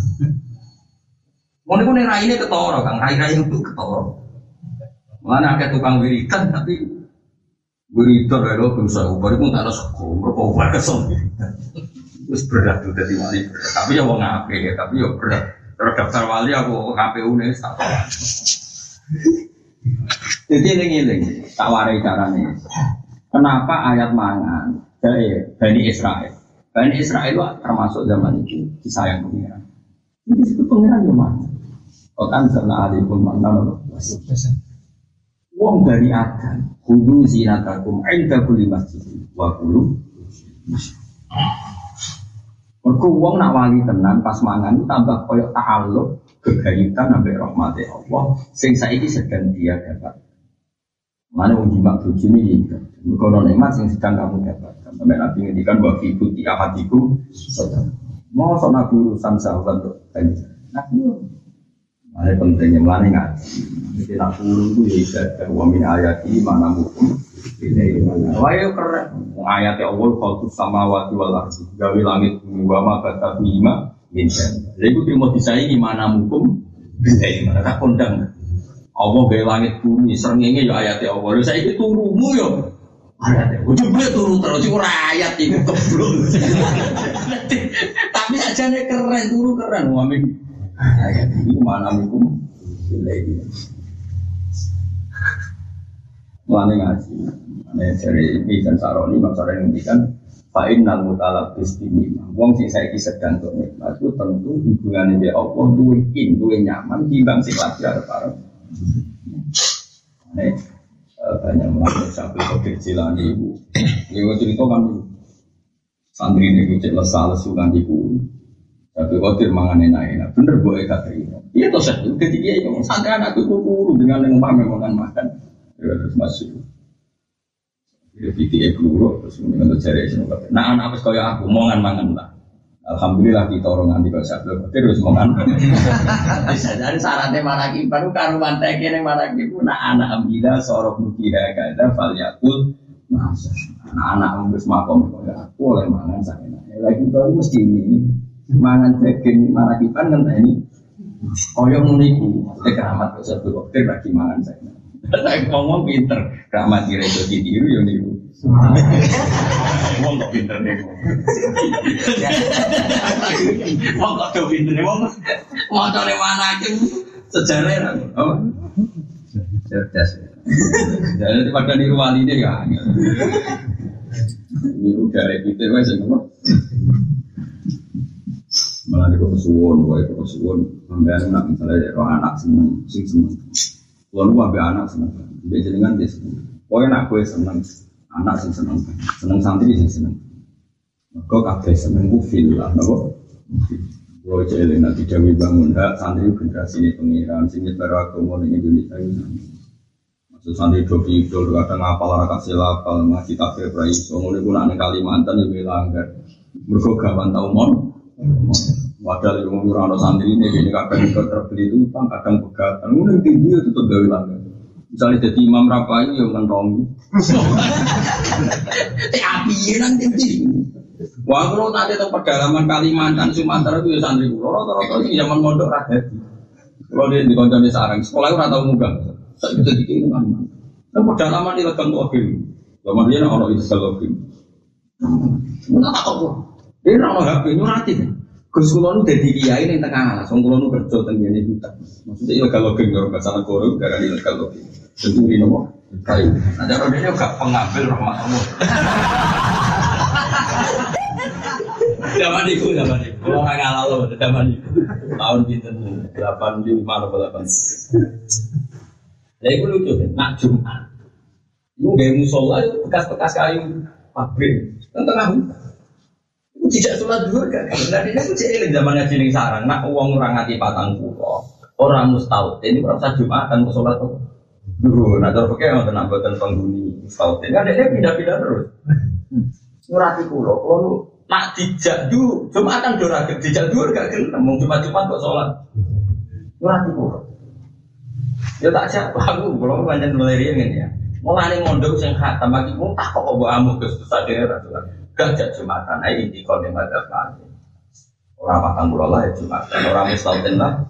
S2: Ngono iku nek raine ketara, Kang. Rai-rai itu ketara. Mana akeh tukang wiridan tapi wiridan lho bisa ubar iku tak ono sego, mergo ubar kesel. Wis berat tuh dadi wali. Tapi ya wong apik ya, tapi ya berat. Terus daftar wali aku K P U ne tak tolak. Jadi eling-eling tak warai carane. Kenapa ayat mangan dari Bani Israel? Bani Israel itu termasuk zaman itu disayang pengiran. Ini itu pengiran yang mana? Okan serna alipun mana loh? Wong dari Adam, kudu zinatakum inda kulli masjid wa kulu. Mergo wong nak wali tenan pas mangan tambah koyo ta'alluq gegayutan ambek rahmate Allah sing saiki sedang dia dapat. Mana wong jimak bojone iki. Mergo ana nikmat sing sedang kamu dapat. Sampai Nabi ngendikan wa fi buti ahadikum sedang. Mau sono urusan sahabat untuk banyak. Nah, ada pentingnya melani ngaji. Jadi nak puluh itu ya ibadah wa min ayati mana mukum ini mana. Wah ya keren. Ayat Allah khalqus samawati wal ardi. Gawe langit bumi wa ma kata bima insan. Jadi itu mau disaingi mana mukum ini mana tak kondang. Allah gawe langit bumi srengenge ya ayat Allah. Lha saiki turumu ya ayat. Coba turu terus iku ayat iku keblok. Tapi ajane keren turu keren wa min ayat ini mana mukum ini. Mulane ngaji, ane dari Ibn Saroni maksudnya ngendikan fa'innal mutalabis bini. Wong sing saiki sedang untuk nikmat itu tentu hubungannya dengan Allah duwe in, duwe nyaman timbang sing lagi arep-arep. Ane banyak melakukan sampai Qadir Jilani ibu. Ibu cerita kan santri ini cek lesal lesungan ibu. Tapi Qadir mangan enak-enak, bener boleh kata ini. Iya toh saya, ketika itu santri anakku kuru dengan yang makan makan. Ya terus masuk. Ya video keluar terus mengenai cari semua. Nah anak apa sekali aku mongan mangan lah. Alhamdulillah kita orang nanti kalau saya belum terus mongan. Bisa jadi syaratnya manaki baru karuan teki yang manaki pun anak ambilah sorok nukiha kada falyakul masa anak-anak ambus makom ya aku oleh mangan saya. Lagi tahu mesti ini mangan daging manakipan kan ini. Koyong muniku keramat kalau saya belum lagi mangan saya. Saya ngomong pinter, gak mati reso ditiru ya niku. Ngomong kok pinter nih. Ngomong kok do pinter nih, ngomong motornya mana aja sejarah oh. Cerdas. Jadi pada niru wali deh ya. Niru dari kita wes semua. Malah niru kesuwon, gue kesuwon. Sampai anak misalnya roh anak seneng, sing seneng. Lalu ambil anak seneng, dia jenengan dia seneng. Pokoknya anak gue seneng, anak sih seneng, seneng santri sih seneng. Kau kabeh seneng gue feel lah, nopo. Gue jadi nanti Dewi bangun dak santri generasi ini pengiran, sini beragama di Indonesia ini. Maksud santri dobi idol kadang ngapal orang kasih lapal, ngaji takbir praise. Ngomongnya gue nak Kalimantan yang melanggar, mereka gawan tau mon. Padahal yang ngurang santri ini, ini kadang terbeli utang, kadang pegatan. Mungkin tinggi itu tetap gawe langgar. Misalnya jadi imam rapai yang kentongi. Teh api nanti nanti. Wah kalau nanti itu pedalaman Kalimantan Sumatera itu ya santri kulo. Rata-rata itu zaman mondok rakyat. Kalau dia di kancah di sarang sekolah itu rata muda. Saya bisa dikirim kan. Dan pedalaman di legang tuh akhir. Zaman dia nak orang Israel akhir. Mana tak tahu. Dia nak orang H P nyurati. Gus kulon udah di kiai yang tengah, song kulon kerja tengah ini buta. Maksudnya ilegal login kalau nggak salah korup gara ilegal login. Tentu ini nopo kayu. Nah cara dia juga pengambil rahmat Allah. Zaman itu, zaman itu. Kalau nggak ngalah loh, zaman itu. Tahun itu delapan di mana delapan. Jadi itu lucu kan, nak Jumat. Itu gaya musola itu bekas-bekas kayu pabrik tengah hutan. Tidak sholat dua kan? Nanti dia kecil zaman ngaji ning sarang. Nak uang orang ngati patang pulau, orang mustahil. Ini berapa jumatan ke sholat tuh? Dulu, nah terus pakai yang tenang buatan penghuni mustahil. Kan dia pindah-pindah terus. Nurati pulau, kalau nak dijak dulu, jumatan dua rakyat dijak dua gak kena. Mau cuma-cuma kok sholat. Nurati pulau. Ya tak siapa aku, kalau banyak melirian kan ya. Mulai mondok sing khatam bagi pun tak kok bawa amu ke daerah tuh. Gajah Jumatan, nah ini kalau yang ada lagi orang makan burolah ya Jumatan, orang mustahil lah.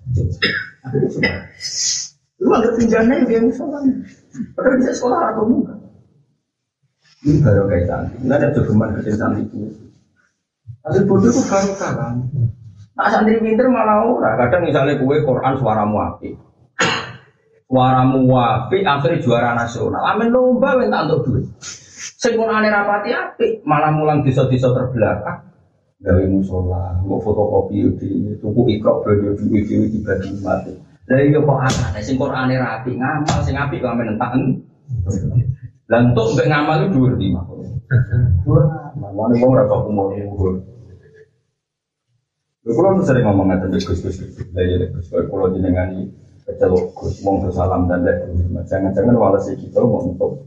S2: Lu ada pinjamnya yang sekolah, padahal bisa sekolah atau bukan? Ini baru kayak cantik, nggak ada jogeman kecil cantik itu. Hasil bodoh itu baru kalah. Nah santri pinter malah ora, kadang misalnya gue Quran suaramu api, suaramu api, akhirnya juara nasional, amin lomba minta untuk duit. Sing Qur'ane rapati apik, malah mulang desa-desa terbelakang. Gawe musala, mbok fotokopi di tuku ikro belajar di video dibagi mati. Lah iya kok aneh sing Qur'ane rapi, ngamal sing apik kok amen entaken. Lah entuk mbek ngamal itu dhuwur di mah. Dhuwur. Mamane wong ora kok umur dhuwur. Kulo sering ngomong ngaten Gus-gus. Lah ya Gus kulo jenengani kecelok Gus mong salam dan lek jangan-jangan walase kita mau untuk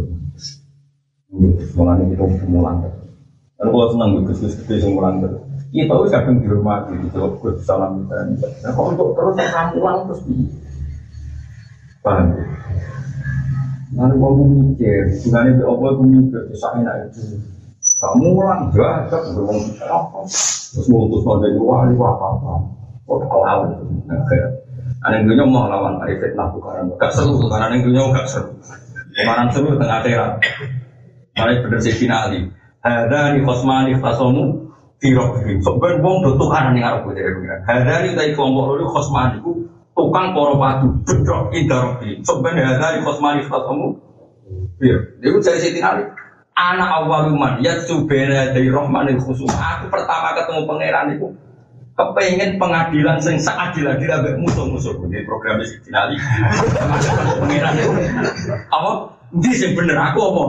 S2: mulanya kita mulang terus. Dan kalau senang Gus-gus gede yang mulang terus, kita itu kadang dihormati, gitu Gus salam kita. Nah kalau untuk terus kamu mulang terus di, paham? Nanti kamu mikir, sebenarnya di Allah kamu mikir, kisahnya itu. Kamu mulang juga, kita beruang kita apa? Terus ngutus dari wali apa apa? Oh lawan, ada yang dunia mau lawan dari fitnah bukan? Gak seru, karena yang dunia gak seru. Kemarin seru tengah akhirat. Malah bener sih finali. Ada di kosmani fasomu firok film. Sebenarnya bong tutukan nih ngarep gue dari pengiran. Ada di tadi kelompok lalu kosmani ku tukang koropatu bedok indarofi. Sebenarnya ada di kosmani fasomu firok. Dia pun cari sih finali. Anak awaluman ya subena dari rohmanil khusum. Aku pertama ketemu pangeran itu kepengen pengadilan sing seadil-adil ambek musuh-musuh. Ini program sih finali. Pangeran itu apa? Ini sing bener aku apa?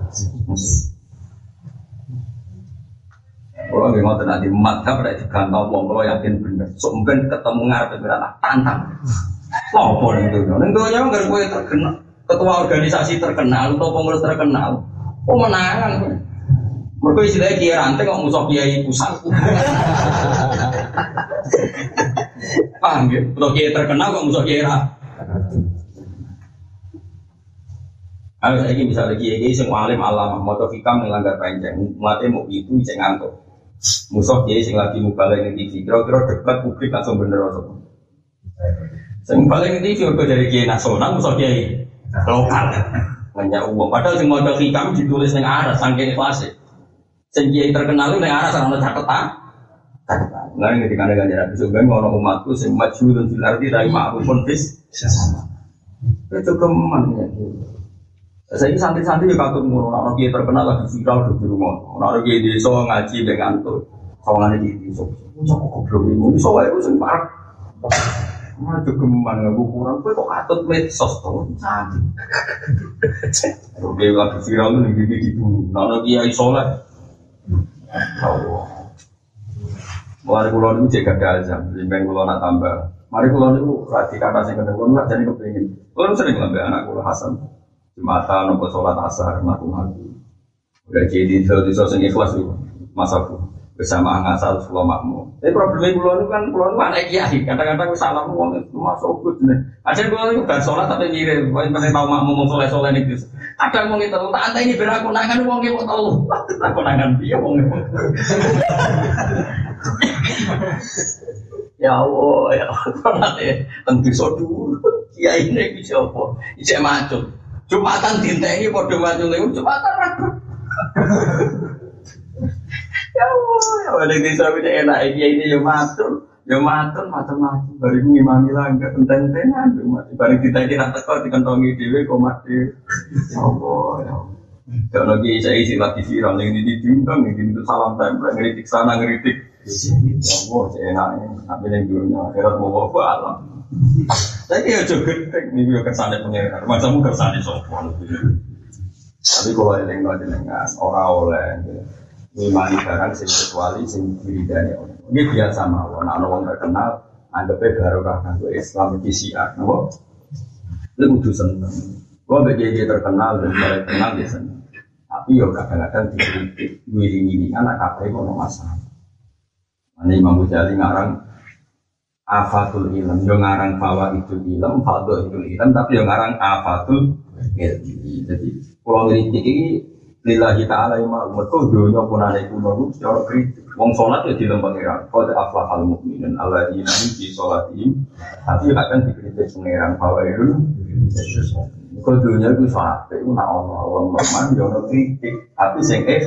S2: Kalau nggak mau nanti madhab pada digantau wong kalau yakin bener, so mungkin ketemu ngarep berapa tantang. Lopo nih tuh, nih tuh yang nggak gue terkenal, ketua organisasi terkenal atau pengurus terkenal, oh menangan. Mereka istilahnya kiai ranting kok musuh kiai pusat. Paham ya? Atau kiai terkenal kok musuh kiai ra. Ayo saya ini misalnya kiai-kiai semua alim alam, motor hikam melanggar panjang, mati mau itu cek ngantuk. Musuh kiai sing lagi mubalek ning T V, kira-kira debat publik langsung bener apa? Sing mubalek ning T V kok dari kiai nasional, musuh kiai lokal. Banyak uang. Padahal sing motor hikam ditulis ning aras saking kelas. Sing kiai terkenal ning aras ana catatan. Catatan. Lah nek dikane ganjaran sebenarnya ngono umatku sing maju dan dilardi dari ma'rufun bis sama. Itu keman ya. Saya ini santri-santri juga katut mulu, orang kiai terkenal lagi viral di rumah, orang kiai desa ngaji dengan tuh, kawangannya di desa, cocok goblok ini, so aku sempat, mana jogeman nggak kurang, kok katut medsos tuh, cantik, orang kiai lagi viral tuh nih di dulu, orang kiai sholat, mari kulon itu jaga dalzam, limbang kulon nak tambah, mari kulon itu rati kata sing kedua kulon jadi kepingin, kulon sering ngambil anak kulon Hasan. Jumatan nopo sholat asar mlaku mati. Udah jadi di sosok ikhlas itu masaku. bersama ngasal sekolah makmum. Tapi problemnya pulau itu kan pulau itu anak kiai. Kadang-kadang salah uang itu masuk good nih. Aja pulau itu gak sholat tapi mirip. Mana tahu makmum mau soleh soleh nih. Kadang mau itu tak ada ini beraku nangan uang itu tahu. Aku nangan dia uang itu. Ya Allah, ya Allah nanti tentu sodul. Kiai ini bisa apa? Bisa macam. Jumatan dintengi pada macam itu. Jumatan ragu. Ya Allah, ya Allah di sana ini enak ini ya matur, ya matur macam-macam. Baru ngimami langgar enten-entenan, baru kita ini nak tekor dikentongi dewe kok mati. Ya Allah, ya Allah. Kalau lagi saya isi lagi viral ini diundang ini itu salam tempel ngeritik sana ngeritik. Ya Allah, saya enaknya. Tapi yang dulunya akhirat mau bawa alam. Tapi ya juga gede nih dia kesannya pengiran. Macammu kesannya sopan. Tapi kalau yang nggak jenengan orang oleh. Mimani barang sing kecuali sing diridani orang. Ini biasa mawon. Nek ana wong terkenal anggape barokah kanggo Islam iki siar, napa? Lu kudu seneng. Kok beje terkenal dan terkenal ya seneng. Tapi yo kadang-kadang dikritik, wiring-wiring anak kabeh ono masalah. Ane Imam Ghazali ngarang afatul ilm, yo ngarang bahwa itu ilm, fadhil itu ilm, tapi yo ngarang afatul ilmi. Jadi kalau kritik iki lillahi ta'ala ima mereka dunia pun ada kuno secara kritik wong sholat ya di lembang pengeran qad aflahal mu'minun alladzina hum fi sholatihim tapi akan dikritik pengeran bahwa itu kalau dunia itu sholat itu nak Allah Allah memang jono kritik tapi sing eh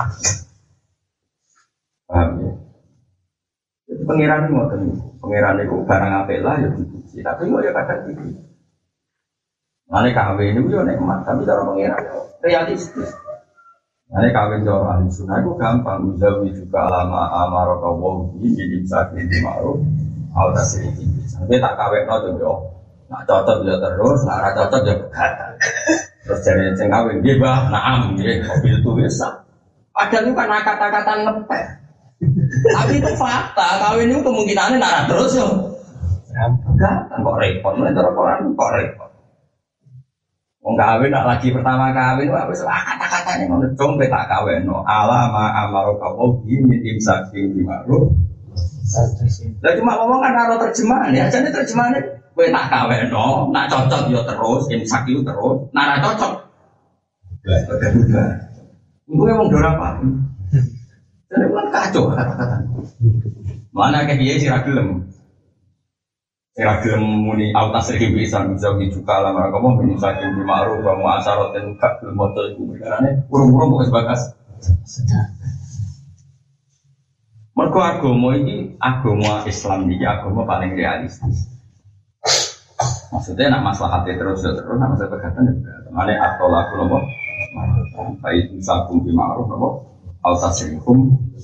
S2: paham ya itu pengeran itu ngoten pengeran itu barang apik lah ya dipuji tapi kok ya kadang kritik ngene kawin itu yo nikmat tapi cara pengeran realistis. Nah, kawin jauh ahli sunnah itu gampang. Uzawi juga alama amaraka wahi minim sakit di ma'ruf al tasiri tinggi. Tapi tak kawin no tuh yo. Nak cocok ya terus, nak ra cocok ya begatan. Terus jadi sing kawin dia bah, naam dia mobil itu bisa. Padahal itu kan kata-kata ngepek. Tapi itu fakta. Kawin itu kemungkinannya nak terus yo. Begatan kok repot. Menurut orang kok repot. Wong kawin nak lagi pertama kawin wah wis kata-katane ngono dong tak kawinno ala ma amaraka wahi min imsakin bi ma'ruf. Lah cuma ngomong kan karo terjemahan ya jane terjemahane kowe tak kawinno nak cocok ya terus imsak itu terus nak ora cocok. Lah udah udah. Mungkin wong dora apa? Jadi kan kacau kata-kata. Mana ke kiai sira gelem. Sira gelem muni autas iki bisa bisa juga lah mereka mau menyesakin di ma'ruf wa mu'asyarat dan gak gelem moto iku karane urung-urung kok sebagas. Mergo agama iki agama Islam iki agama paling realistis. Maksudnya nak maslahatnya terus terus nak masalah pegatan juga. Mane atol aku lomo. Baik misalkum di ma'ruf lomo. Autasrikum.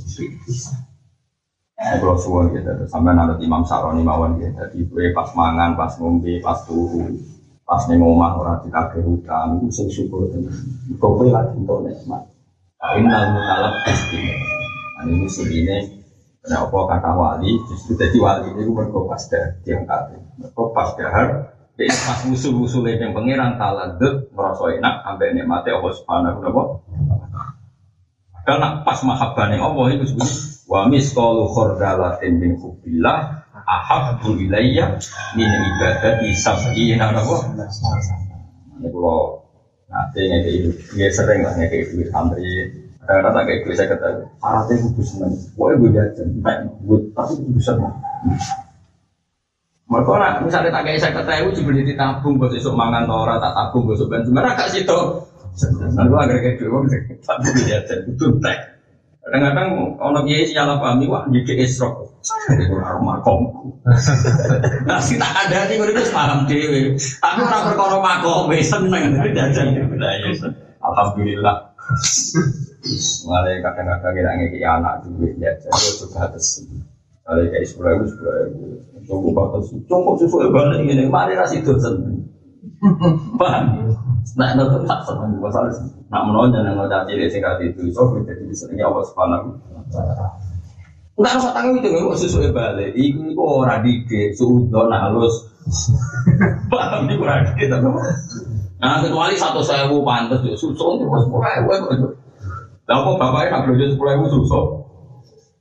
S2: Kalau suwon gitu, sampai nanti Imam Saroni mawon gitu. Jadi gue pas mangan, pas ngombe, pas turu, pas nengomah orang dikagih hutang, itu sing syukur tenan. Kowe lagi untuk nikmat. Innal mutalab istimewa. Ini sini, kenapa kata wali? Justru jadi wali ini gue berkopas dah diangkat. Berkopas dahar. Jadi pas musuh-musuh yang pangeran taladut merasa enak, sampai nikmati Allah Subhanahu wa taala. Karena pas mahabbah yang Allah itu sebut wa misqalu khardalatin min hubbillah ahabbu ilayya min ibadati sab'ina nawa. Ini kalau nanti ngeke dia sering lah ngeke duit santri. Kadang-kadang tak kayak gue saya kata syaratnya kudu seneng. Pokoknya gue jajan, gue tapi kudu seneng. Mereka nak misalnya tak kayak saya kata gue cuma ditabung buat besok mangan tora tak tabung besok ben cuma agak situ. Nanti gue agar kayak gue bisa tak gue jajan kudu tek. Kadang-kadang orang kiai salah pahami wah jadi esrok. Jadi kurang makom. Nasi tak ada nih gue itu paham dewi. Tapi orang berkorong makom seneng jajan. Alhamdulillah. Mulai kadang-kadang kita ngeki anak duit jajan itu juga terus. Kalau kayak sepuluh ribu sepuluh ribu. Cukup batas, cukup susu balik ini. Mari rasi dosen. Paham? Nah, itu tak senang masalah. Nak menonjol yang ngajak cilik singkat itu, so jadi disenangi Allah Subhanahu wa taala. Enggak usah tanggung itu nggak susu balik. Iku iku ora dike, suudon halus. Paham di ora dike ta. Nah, kecuali satu sewu pantes susu itu sepuluh ribu. Lah kok bapaknya nak belanja sepuluh ribu susu.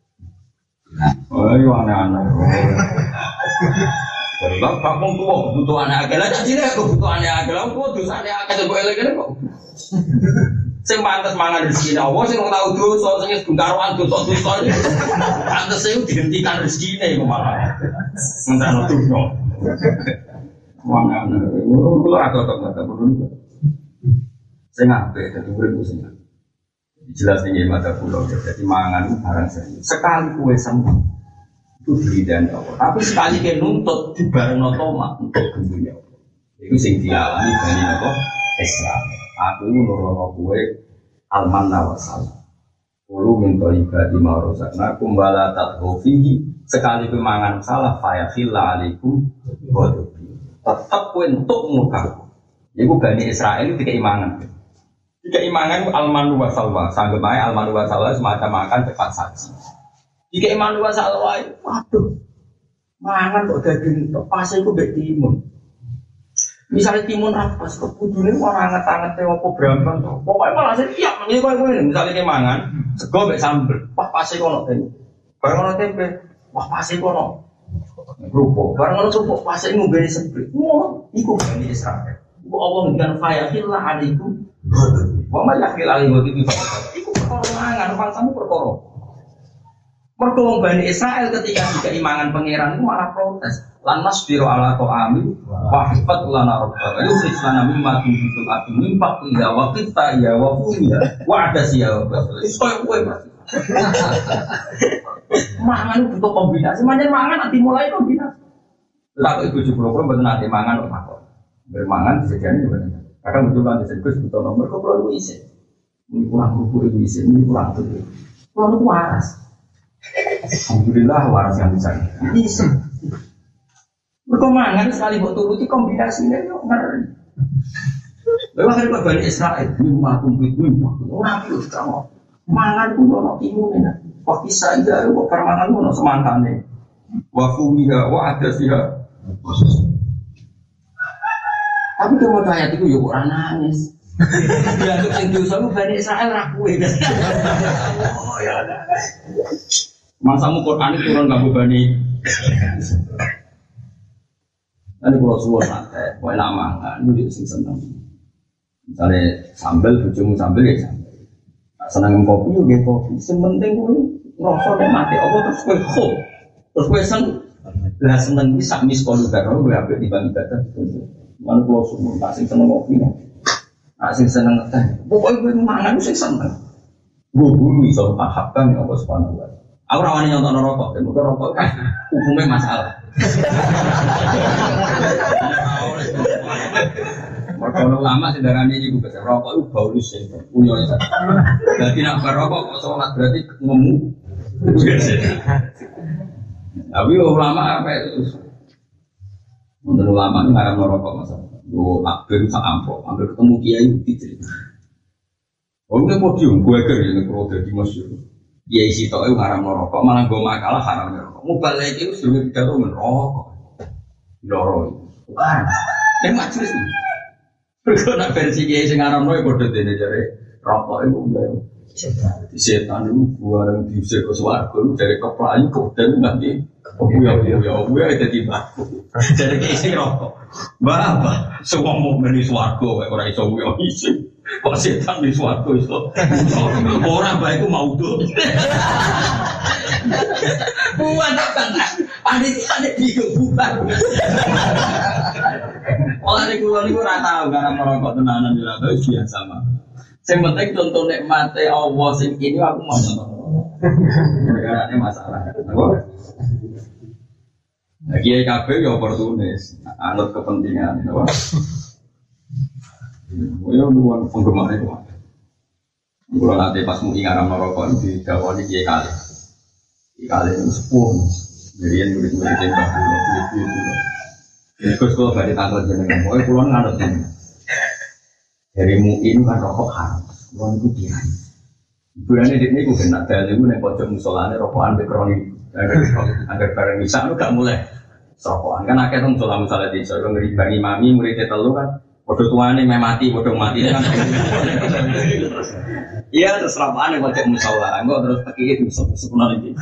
S2: Oh, iya aneh-aneh. Kalau kamu tua butuh anak agak lah, jadi aku butuh anak agak lah, aku dosa anak agak coba elek kok. Sing pantes mangan rezeki Allah, sing tahu dosa, sing bungkaruan dosa dosa. Pantes saya dihentikan rezeki ini malah. Mentang dosa. Mangan, aku rata tak rata berdua. Saya ngapain? Jadi beribu sih. Jelas nih mata pulau. Jadi mangan barang serius. Sekali kue sama. Itu beli dan Allah. Tapi sekali dia nuntut di bareng otomat untuk dunia. Itu sing dialami dari apa? Islam. Aku nurono kue almanna wasal. Ulu minta ibadah maurusak. Nah kumbala tathofihi sekali pemangan salah fayakhilla alaikum waduh. Tetap kue untuk muka. Ibu Bani Israel itu keimangan. Keimangan almanu wasalwa. Sanggup aja almanu wasalwa semacam makan cepat saji. Jika iman dua salawai, waduh, mangan kok daging pas itu betimun. Misalnya timun apa? Kebudune orang ngetang-ngetang apa berambang? Pokoknya malah setiap ini kau ini. Misalnya kita mangan, sego be sambel, wah pas itu kono tempe. Barang kono tempe, wah pas itu kono kerupuk. Barang kono kerupuk pas itu ngubeni sebel. Wah, ikut Bani Israel. Allah dengan fayakhillah alaikum. Wah, fayakhil alaikum itu ikut perkara mangan, bangsamu perkara. Perkara Bani Israel ketika dikeimangan pangeran itu malah protes. Lan nasbiru ala ta'ami wa hifat lana rabbana yusrif lana mimma tunbitul ardu min faqliha wa qitaiha wa fumiha wa adasiha wa basil. Koyo kowe Mas. Mangan butuh kombinasi, manjan mangan nanti mulai kombinasi. Lah ibu jupro pun mboten nate mangan kok makok. Bermangan disediani bener. Kadang butuh kan disebut butuh nomor kok perlu isi. Ini kurang rupu ibu isi, ini kurang tuh. Kurang itu waras. Alhamdulillah waras yang bisa. Bisa. Berkemangan sekali buat turuti kombinasinya yuk ngeri. Lalu akhirnya Bani Israel lima kumpit lima. Nabi utama mangan pun ono imunnya. Kok bisa aja kok permangan pun ono semangkane. Wafumiha wa adasiha. Tapi kalau ayat itu yuk orang nangis. Ya untuk yang diusaha Bani Israel rakue. Oh ya ada. Mangsamu Quran itu turun kamu Bani. Nanti kalau suwon nate, kau enak mangan, itu sing seneng. Misalnya sambal, bujumu sambal ya sambal. Seneng kopi, ya kopi. Sementing kau ngerasa dan mati. Apa terus kau kho, terus kau seneng. Lah seneng bisa miskolu karena kau ambil di bang ibadah. Mana kalau suwon, tak sing seneng kopi, tak sing seneng teh. Pokoknya kau mangan itu sing seneng. Gue bulu iso ahapkan ya Allah subhanahu wa taala. Aku rawani nyontok rokok, dan bukan rokok kan hukumnya masalah. Kalau lama sedarahnya ini gue rokok itu bau lusin, punya itu. Jadi nak berrokok kok sholat berarti ngemu. Tapi ulama apa itu? Menurut ulama ini nggak ada merokok masalah. Gue akhir sak ampok, hampir ketemu kiai dicerita. Oh ini podium, gue ker ini kalau jadi masyur. Kiai si tau itu haram merokok, malah gue makalah haram merokok. Mubal lagi itu sebelum kita tuh merokok. Loro, bukan. Ini majelis nih. Berkena versi kiai sing haram merokok bodoh dene jare rokok itu udah. Setan itu gua yang diusir ke suarga itu dari kepelayu kodeng nanti. Oh ya ya ya, gue ada di baku. Jadi kiai sing rokok. Berapa? Semua mau beli suarga, orang iso gue isi. Kok setan di suatu itu orang baik itu mau tuh buat apa panitia ada bingung bukan orang di kulon itu rata karena merokok tenanan di rata biasa mah yang penting contoh nikmati Allah sing ini aku mau nonton karena ini masalah lagi I K B ya oportunis anut kepentingan ya luar penggemar itu. Kalau nanti pas mau ingat merokok di Jawa di Kiai Kali, Kiai Kali itu sepuh. Jadi yang murid-murid yang baru itu itu. Jadi kalau dari tanggal jenengan, pokoknya pulang nganut ini. Dari muin kan rokok haram, pulang itu dirai. Bulannya di ini gue kena dari gue nih pojok musolanya rokokan bekroni, agar bareng bisa lu gak mulai rokokan kan akhirnya musola musola di Jawa ngeri bagi mami muridnya telu kan. Bodoh tuane meh mati, bodoh mati kan. Iya terus rapane wajib musola, engko terus iki sepuluh iki.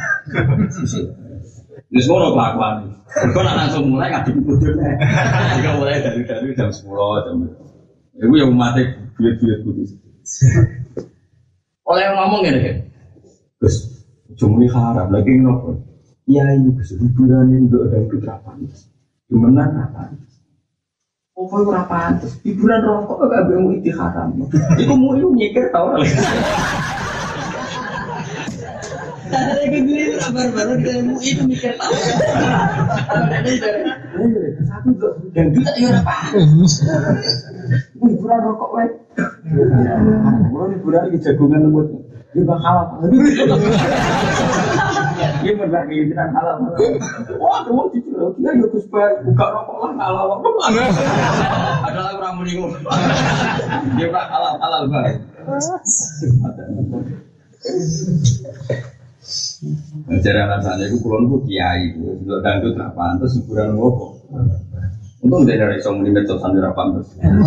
S2: Wis ngono kelakuan. Kok nek langsung mulai ngadep bojone. Jika mulai dari dari jam sepuluh jam. Iku yang mati biar-biar kudu. Oleh ngomong ngene kan. Gus, cuma haram lagi ngopo. Iya itu Gus, hiburan itu ada ketrapan. Gimana apa? Oh, kau berapa? Hiburan rokok agak bingung itu haram. Iku mau itu mikir tau lah. Ada yang gini baru-baru kita mau itu mikir tau. Satu dan kita itu apa? Hiburan rokok weh. Hiburan hiburan di jagungan lembut. Dia bakal apa? Dia berbagi hiburan halal. Wah, kamu cucu dia yuk supaya buka rokok lah halal. Adalah orang meninggal. Dia tak halal halal baik. Ajaran rasanya itu kulon itu kiai, itu dangdut lah pantas hiburan rokok. Untung dari dari song lima ratus sampai pantas.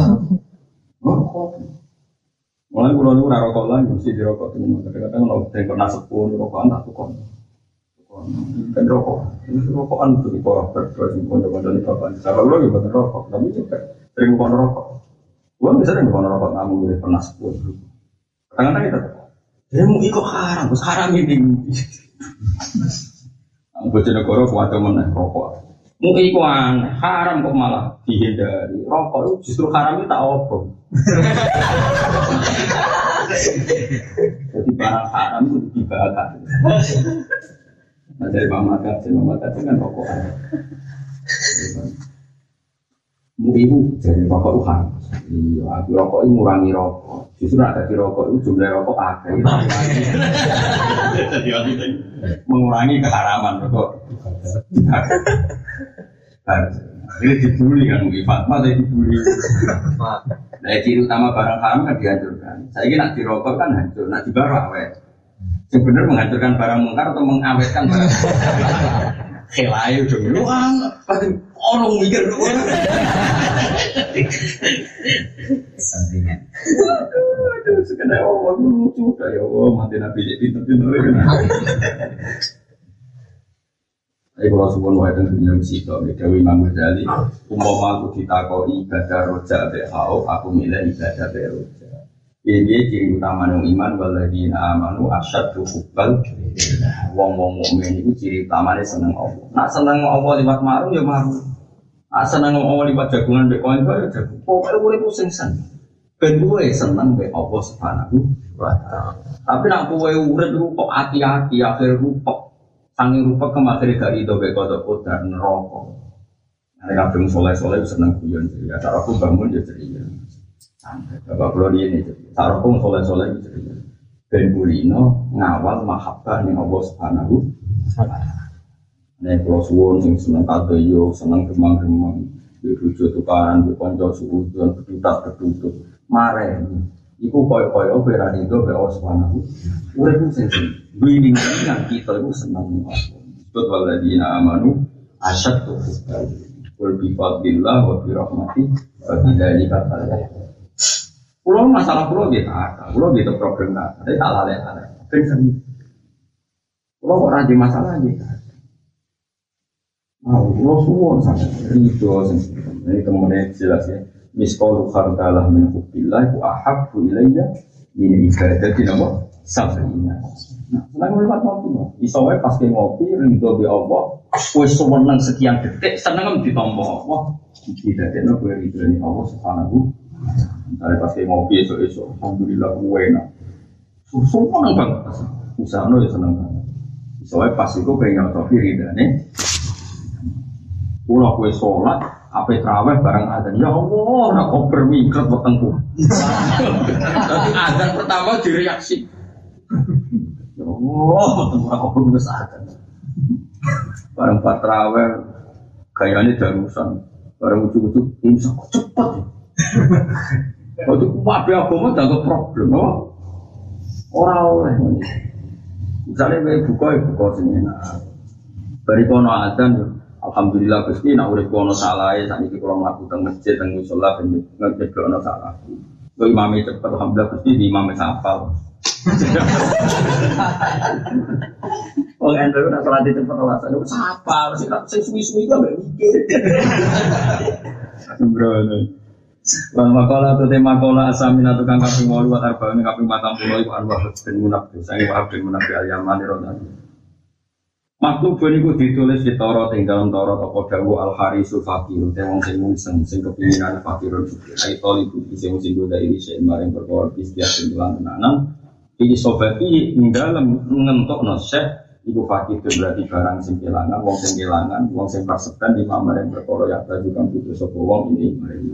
S2: Mulai kulon itu rokok lagi mesti dirokok teman. Kadang-kadang kalau pernah sepuluh rokokan tak tukar. Kan rokok, ini rokokan itu di bawah berproses pondok-pondok di bapak. Kalau lo juga rokok, tapi juga sering bukan rokok. Gua bisa sering bukan rokok, namun gue pernah sepuluh. Kadang-kadang kita, dia mau ikut haram, terus haram ini. Bocah negara kuat mana rokok. Mau ikut haram kok malah dihindari. Rokok itu justru haram itu tak obong. Jadi barang haram itu dibakar. Nah, dari mama kata, mama kata kan rokokan. Mu ibu jadi rokok itu harus. Iya, aku rokok itu ngurangi rokok. Justru ada di rokok itu jumlah rokok agak. Mengurangi keharaman rokok. Ini dibully kan, mungkin Fatma tadi dibully. Nah, ciri utama barang haram kan dihancurkan. Saya kira nak dirokok kan hancur, nak dibawa awet. Sebenarnya menghancurkan barang mungkar atau mengawetkan barang khelayu dong. Lu pasti orang mikir dulu.
S3: Santingan.
S2: Aduh, sekedar Allah lucu dah ya Allah mati nabi jadi pintu-pintu lagi. Ayo kalau sebelum wae tentang dunia musik, Dewi Imam Ghazali, umpama aku ditakoi ibadah roja behau, aku milih ibadah beroja. Ini ciri utama yang iman waladina amanu asyaddu hubbal. Wong-wong mukmin itu ciri utamanya seneng Allah. Nak seneng Allah liwat maru ya maru. Nak seneng Allah liwat jagungan mbek koin ya jagung. Pokoke urip sing seneng. Ben kowe seneng mbek Allah Subhanahu wa taala. Tapi nak kowe urip kok ati-ati akhir rupa. Sangi rupa kemakhir gak rido mbek kodok-kodok neraka. Nek kabeh soleh-soleh seneng guyon ceria. Cara aku bangun ya ceria. Bapak Pulau ini, sarapung soleh-soleh itu ben kulino ngawal mahabbah ning Allah Subhanahu wa taala. Nek Pulau Suwon sing seneng tadoyo, seneng gemang-gemang, dirujuk tukaran, dikonco suudon, bedutak-bedutut. Mare iku koyo-koyo ora rido be Allah Subhanahu. Urip sing winning nang kita iku seneng Allah. Sebut waladina amanu asyaddu hubban. Qul bi fadlillah wa bi rahmatihi wa bidzalika falyafrahu. Pulau masalah pulau gitu ada, pulau gitu problem ada, tapi tak lalai lalai. Kan pulau kok rajin masalah gitu. Ah, pulau suwon sangat itu, ini kemudian jelas ya. Miskal khardallah min hubbillah wa ahabbu ilayya min ibadati nama sabrina. Nah, senang lewat ngopi, isowai pas ke ngopi ridho bi Allah, wis seneng sekian detik seneng ditompo Allah. Tidak ada gue ridho ni Allah Subhanahu. Misalnya pas kayak ngopi esok-esok, alhamdulillah gue enak. Semua senang banget, usaha no ya senang banget. Soalnya pas itu pengen ngopi ridane. Pulau gue sholat, apa terawih bareng adzan. Ya Allah, nak kau bermingkret wetengku. Tapi adzan pertama direaksi. Ya Allah, wetengku nak kau bermingkret adzan. Bareng pas terawih, kayaknya darusan. Bareng ujuk-ujuk, ini sangat cepat. Waktu wabe agama tak ada problem, oh. Orang oleh, misalnya saya buka, buka sini, bari kono adzan, Alhamdulillah Gusti nak urip ono salahe sakniki kula mlaku teng masjid teng musala ben ngejeblok ono salah. Kok imame cepet alhamdulillah Gusti di imame hafal. Wong endo nak salat cepet ora sak hafal sing sing suwi-suwi kok mbek mikir. Sembrono. Lan makola tu tema kola asamina tukang kaping wolu wa arba'in kaping patang puluh iku arwah ben munafik sange wa ben munafik al-yamani rodani. Maklub niku ditulis di Taurat ing dalam Taurat apa dawuh al-harisu fakir te wong sing mungseng sing kepinginan fakirun ai toli iki sing sing goda ini sing maring perkara istiak sing lan tenanan iki sobati ing dalem ngentokno syekh iku fakir berarti barang sing kelangan wong sing kelangan wong sing praseban di maring perkara ya tadi kang putus sapa wong ini maring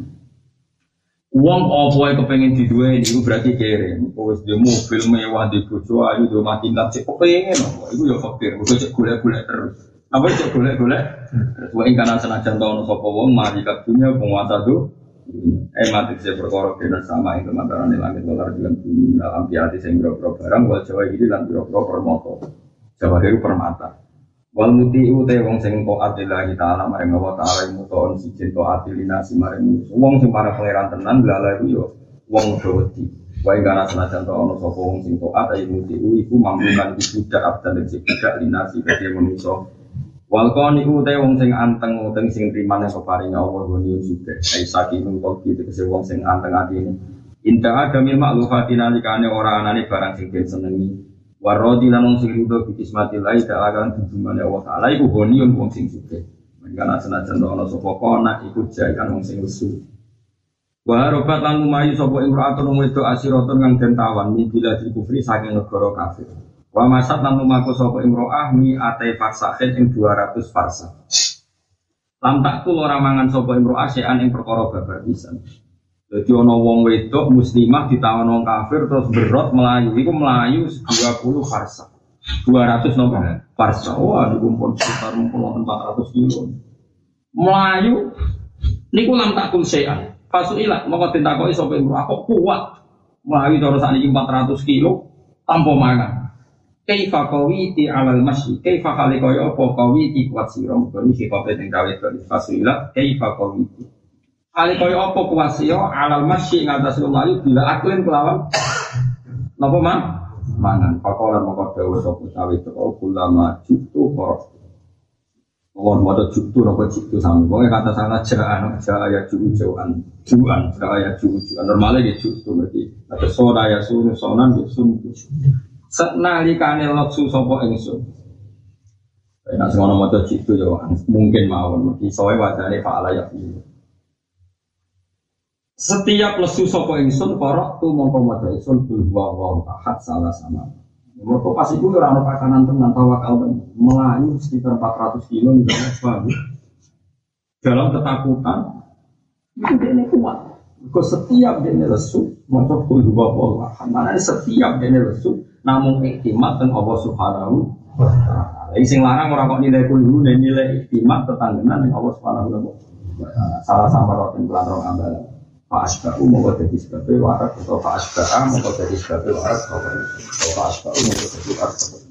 S2: wong apa yang kepengen diduwe itu berarti kere. Wis di mobil mewah di bojo ayu do mati tingkat sik kepengen apa iku ya fakir. Kudu cek golek-golek terus. Apa cek golek-golek? Terus wae kana senajan taun sapa wong mari kadunya penguasa do. Eh mati sing perkara kena sama ing kemantarane langit dolar dengan bumi dalam piati sing boro barang wal Jawa iki lan boro permata. Jawa itu permata. Wal muti uta wong sing taat lillahi ta'ala maring Allah ta'ala mutoon siji taat linasi maring wong sing para pangeran tenan lala iku yo wong wedi wae kana senajan to ana sapa wong sing taat ayo muti iku mampukan budak abdan sing budak linasi kaya manusa wal qani uta wong sing anteng uteng sing trimane sapa paring Allah goni juga ai sakinun koki tegese wong sing anteng atine inta adamil ma'lufatina likane ora anane barang sing den senengi warodi lan sing rido bi kismatillah ta'ala kan tunjungane Allah taala iku goniun wong sing sugih. Mangkana senajan ana sapa kana iku jakan wong sing lesu. Wa robat lan lumayu sapa imra'atun wedok asiratun kang den tawan mibila kufri saking negara kafir. Wa masat lan lumaku sapa imra'ah mi atai farsahin ing dua ratus farsa. Lam takul ora mangan sapa imra'ah sean ing perkara babar pisan. Jadi ono wong wedok muslimah ditawan wong kafir terus berot melayu, itu melayu dua puluh farsa, dua ratus nomor farsa. Wah, dikumpul sekitar empat ratus kilo. Melayu, niku lam takul sean. Fasuilah, maka ditakoi sapa imro aku kuat. Melayu terus sakniki empat ratus kilo tanpa mangan. Kaifa qawiti alal masyi, kaifa khalaqaya apa qawiti kuat sira. Ini sing kabeh teng kawit fasuilah, kaifa qawiti. Kali kaya apa kuwasya alal masyi ngatas lumayu bila aklin kelawan napa man mangan pakolan moko dawuh sapa cawe teko ulama jutu kok wong moto jutu napa jutu sami pokoke kata sana jaan jaya jujuan juan jaya jujuan normale ge jutu berarti ada soda ya sunu sonan ge sun senalikane leksu sapa ingsun nek ngono moto jutu yo mungkin mawon iki soe wajane fa'ala ya setiap lesu sapa ingsun korok tu mongko maca ingsun bil wa wa ahad salah sama. Mergo pas iku ora ana pakanan tenan tawakal melayu sekitar empat ratus kilo misalnya bagus. Dalam ketakutan itu dene kuat. Mergo setiap dene lesu maca bil wa wa ahad. Mana setiap dene lesu namung iktimat teng Allah Subhanahu wa taala. Sing larang ora kok nilai kulo nilai iktimat tetanggenan ning Allah Subhanahu wa taala. Salah sama roten kelan ambalan. Pak Asba'u mau jadi sebabnya warak atau Pak Asba'u mau jadi sebabnya warak atau Pak Asba'u mau jadi warak